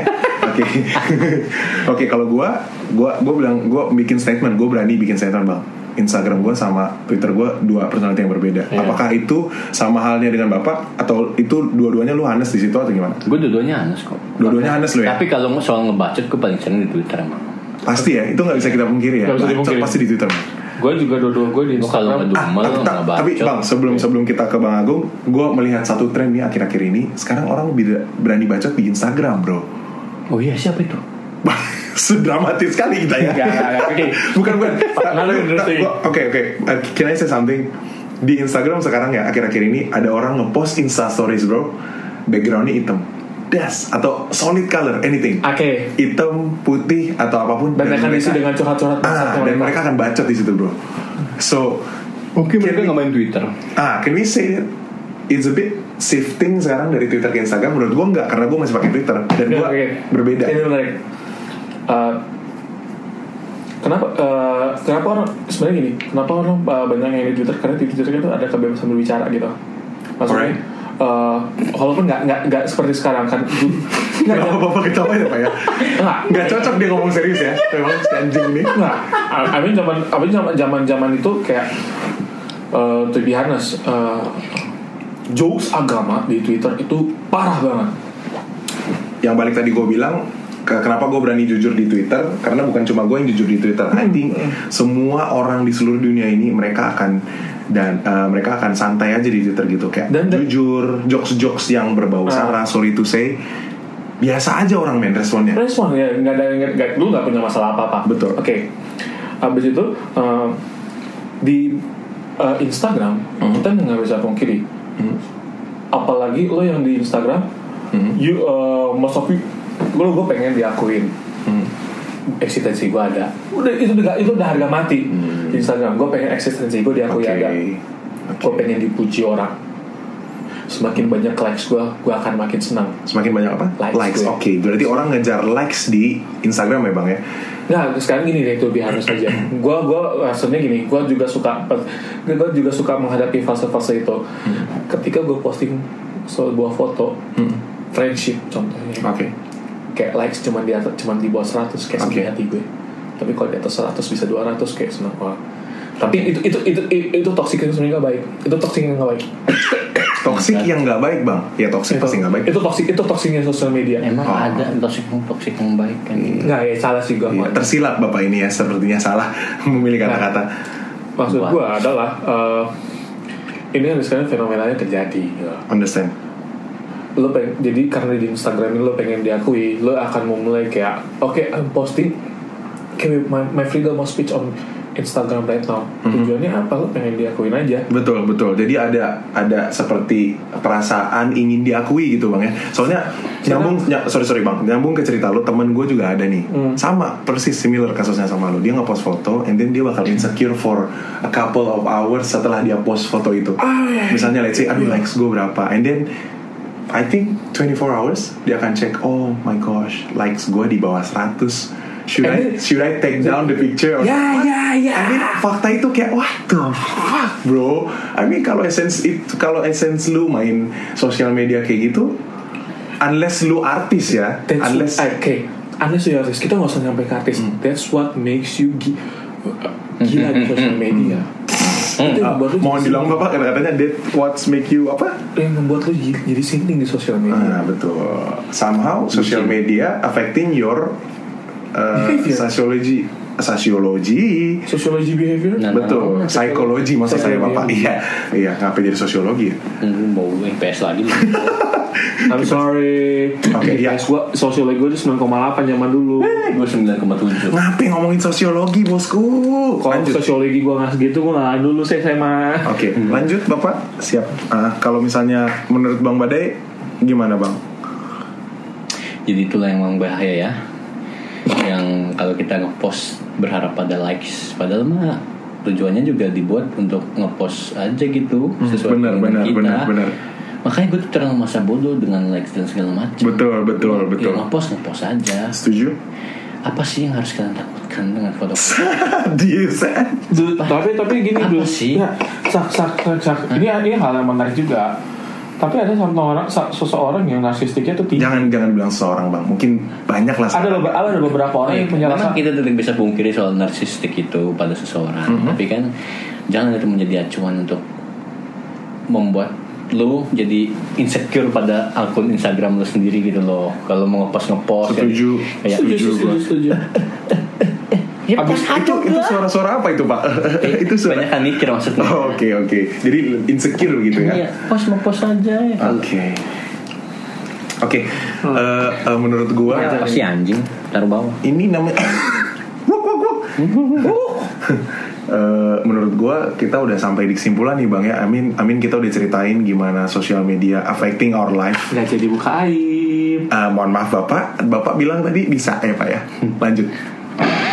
Oke, kalau gua bilang gua bikin statement, gua berani bikin statement Bang. Instagram gue sama Twitter gue dua personality yang berbeda. Apakah itu sama halnya dengan bapak atau itu dua-duanya lu honest di situ atau gimana? Gue dua-duanya honest kok. Dua-duanya honest lu ya. Tapi kalau soal ngebacot gue paling sering di Twitter emang. Pasti ya, itu nggak bisa kita pungkiri ya. Pasti di Twitter. Gue juga dua-dua gue di Instagram. Tapi Bang, sebelum kita ke Bang Agung, gue melihat satu tren nih akhir-akhir ini. Sekarang orang berani bacot di Instagram, bro. Oh iya, siapa itu? Sedramatis sekali kita ya. Bukan. Oke. Can I say something? Di Instagram sekarang ya akhir-akhir ini ada orang ngepost Insta Stories bro, backgroundnya hitam, atau solid color, anything. Hitam, putih atau apapun. Dan mereka isi dengan curhat-curhat. Dan mereka akan bacot di situ bro. So mungkin mereka nggak main Twitter. Can we say it's a bit shifting sekarang dari Twitter ke Instagram? Menurut gue enggak, karena gue masih pakai Twitter dan gue berbeda. Ini menarik. Kenapa orang sebenarnya gini? Kenapa orang banyak yang di Twitter? Karena di Twitter itu ada kebebasan berbicara gitu. Maksudnya, walaupun nggak seperti sekarang kan. Kenapa bapak ketawa ya pak ya? Nggak cocok dia ngomong serius ya. Memang si anjing ini. Nggak. Zaman itu kayak to be honest, jokes agama di Twitter itu parah banget. Yang balik tadi gue bilang, kenapa gue berani jujur di Twitter? Karena bukan cuma gue yang jujur di Twitter. I think semua orang di seluruh dunia ini mereka akan santai aja di Twitter gitu, kayak jujur, jokes yang berbau sara, sorry to say, biasa aja orang main responnya. Respon ya, lu nggak punya masalah apa-apa. Betul. Oke. Abis itu di Instagram kita nggak bisa pungkiri. Apalagi lo yang di Instagram, most of you, gue pengen diakuin. Eksistensi gue ada. Itu udah harga mati di Instagram. Gue pengen eksistensi gue diakui ada. Gue pengen dipuji orang. Semakin banyak likes gue akan makin senang. Semakin banyak apa? Likes. Oke. Berarti orang ngejar likes di Instagram ya bang ya? Nah sekarang gini deh, itu lebih halus aja. Gue rasanya gini. Gue juga suka menghadapi fase-fase itu. Ketika gue posting sebuah foto friendship contohnya. Oke. Kayak likes cuma di bawah 100 kayak sedih hati gue. Tapi kalau di atas 100 bisa 200 kayak senang banget. Tapi itu toxic yang sebenarnya nggak baik. Itu toxic yang nggak baik. Toxic yang nggak baik bang? Ya toxic pasti nggak baik. Itu toksiknya sosial media. Emang ada toxic yang baik kan? Nggak ya, salah sih gue. Ya, tersilat bapak ini ya, sepertinya salah memilih kata-kata. Maksud gue adalah ini kan sekarang fenomenanya terjadi. Understand? Lo jadi karena di Instagram ini lo pengen diakui, lo akan memulai kayak I'm posting kayak my freedom of speech on Instagram right now. Tujuannya apa? Lo pengen diakuin aja. Betul. Jadi ada seperti perasaan ingin diakui gitu bang ya. Soalnya sorry bang, nyambung ke cerita lo, temen gue juga ada nih, sama persis similar kasusnya sama lo. Dia ngepost foto, and then dia bakal insecure for a couple of hours setelah dia post foto itu. Misalnya let's say, likes gue berapa, and then I think 24 hours dia akan cek, oh my gosh, likes gue di bawah 100. Should I take down the picture? Yeah. I mean, fakta itu kayak what the fuck bro. I mean kalau essence lu main sosial media kayak gitu, unless lu artis ya, unless lu artis, kita nggak usah sampai ke artis. That's what makes you gila di sosial media. Mohon diulang bapak, katanya that what make you apa? Yang membuat lu jadi sinting di sosial media. Betul. Somehow social media affecting your sociology behavior. Betul. Psikologi maksud saya bapak. Iya. Ngapain jadi sosiologi ya? Mau IPS lagi. I'm sorry. Ya. Gua sosiologi gue itu 9,8 zaman dulu. Gue 9,7. Ngapain ngomongin sosiologi bosku? Kalau sosiologi gue nggak segitu, gue nggak dulu sih SMA. Oke, lanjut bapak. Siap. Kalau misalnya menurut Bang Badai gimana bang? Jadi itulah yang memang bahaya ya. Yang kalau kita ngepost berharap pada likes, padahal mah tujuannya juga dibuat untuk ngepost aja gitu, sesuai dengan kita. Benar. Makanya gue tuh terlalu masa bodoh dengan likes dan segala macam. Betul. Ya, ngepost aja. Setuju. Apa sih yang harus kalian takutkan dengan foto? Tapi gini dulu sih. Ya, ini hal yang menarik juga. Tapi ada seseorang yang narsistiknya tuh tinggi. Jangan bilang seseorang bang, mungkin banyak lah. Ada beberapa orang yang punya rasa. Memang kita tidak bisa pungkiri soal narsistik itu pada seseorang. Tapi kan jangan itu menjadi acuan untuk membuat lo jadi insecure pada akun Instagram lo sendiri gitu loh. Kalau mau ngepost setuju. Setuju. Ya, itu suara-suara apa itu pak? Itu suara banyak kan mikir maksudnya. Oke. Jadi insecure gitu ya? Iya, post aja ya. Oke. Menurut gua apa sih anjing taruh bawah? Ini namanya menurut gue kita udah sampai di kesimpulan nih bang ya. Amin kita udah ceritain gimana social media affecting our life. Nggak jadi buka aib. Mohon maaf bapak bilang tadi bisa ya pak ya. Lanjut.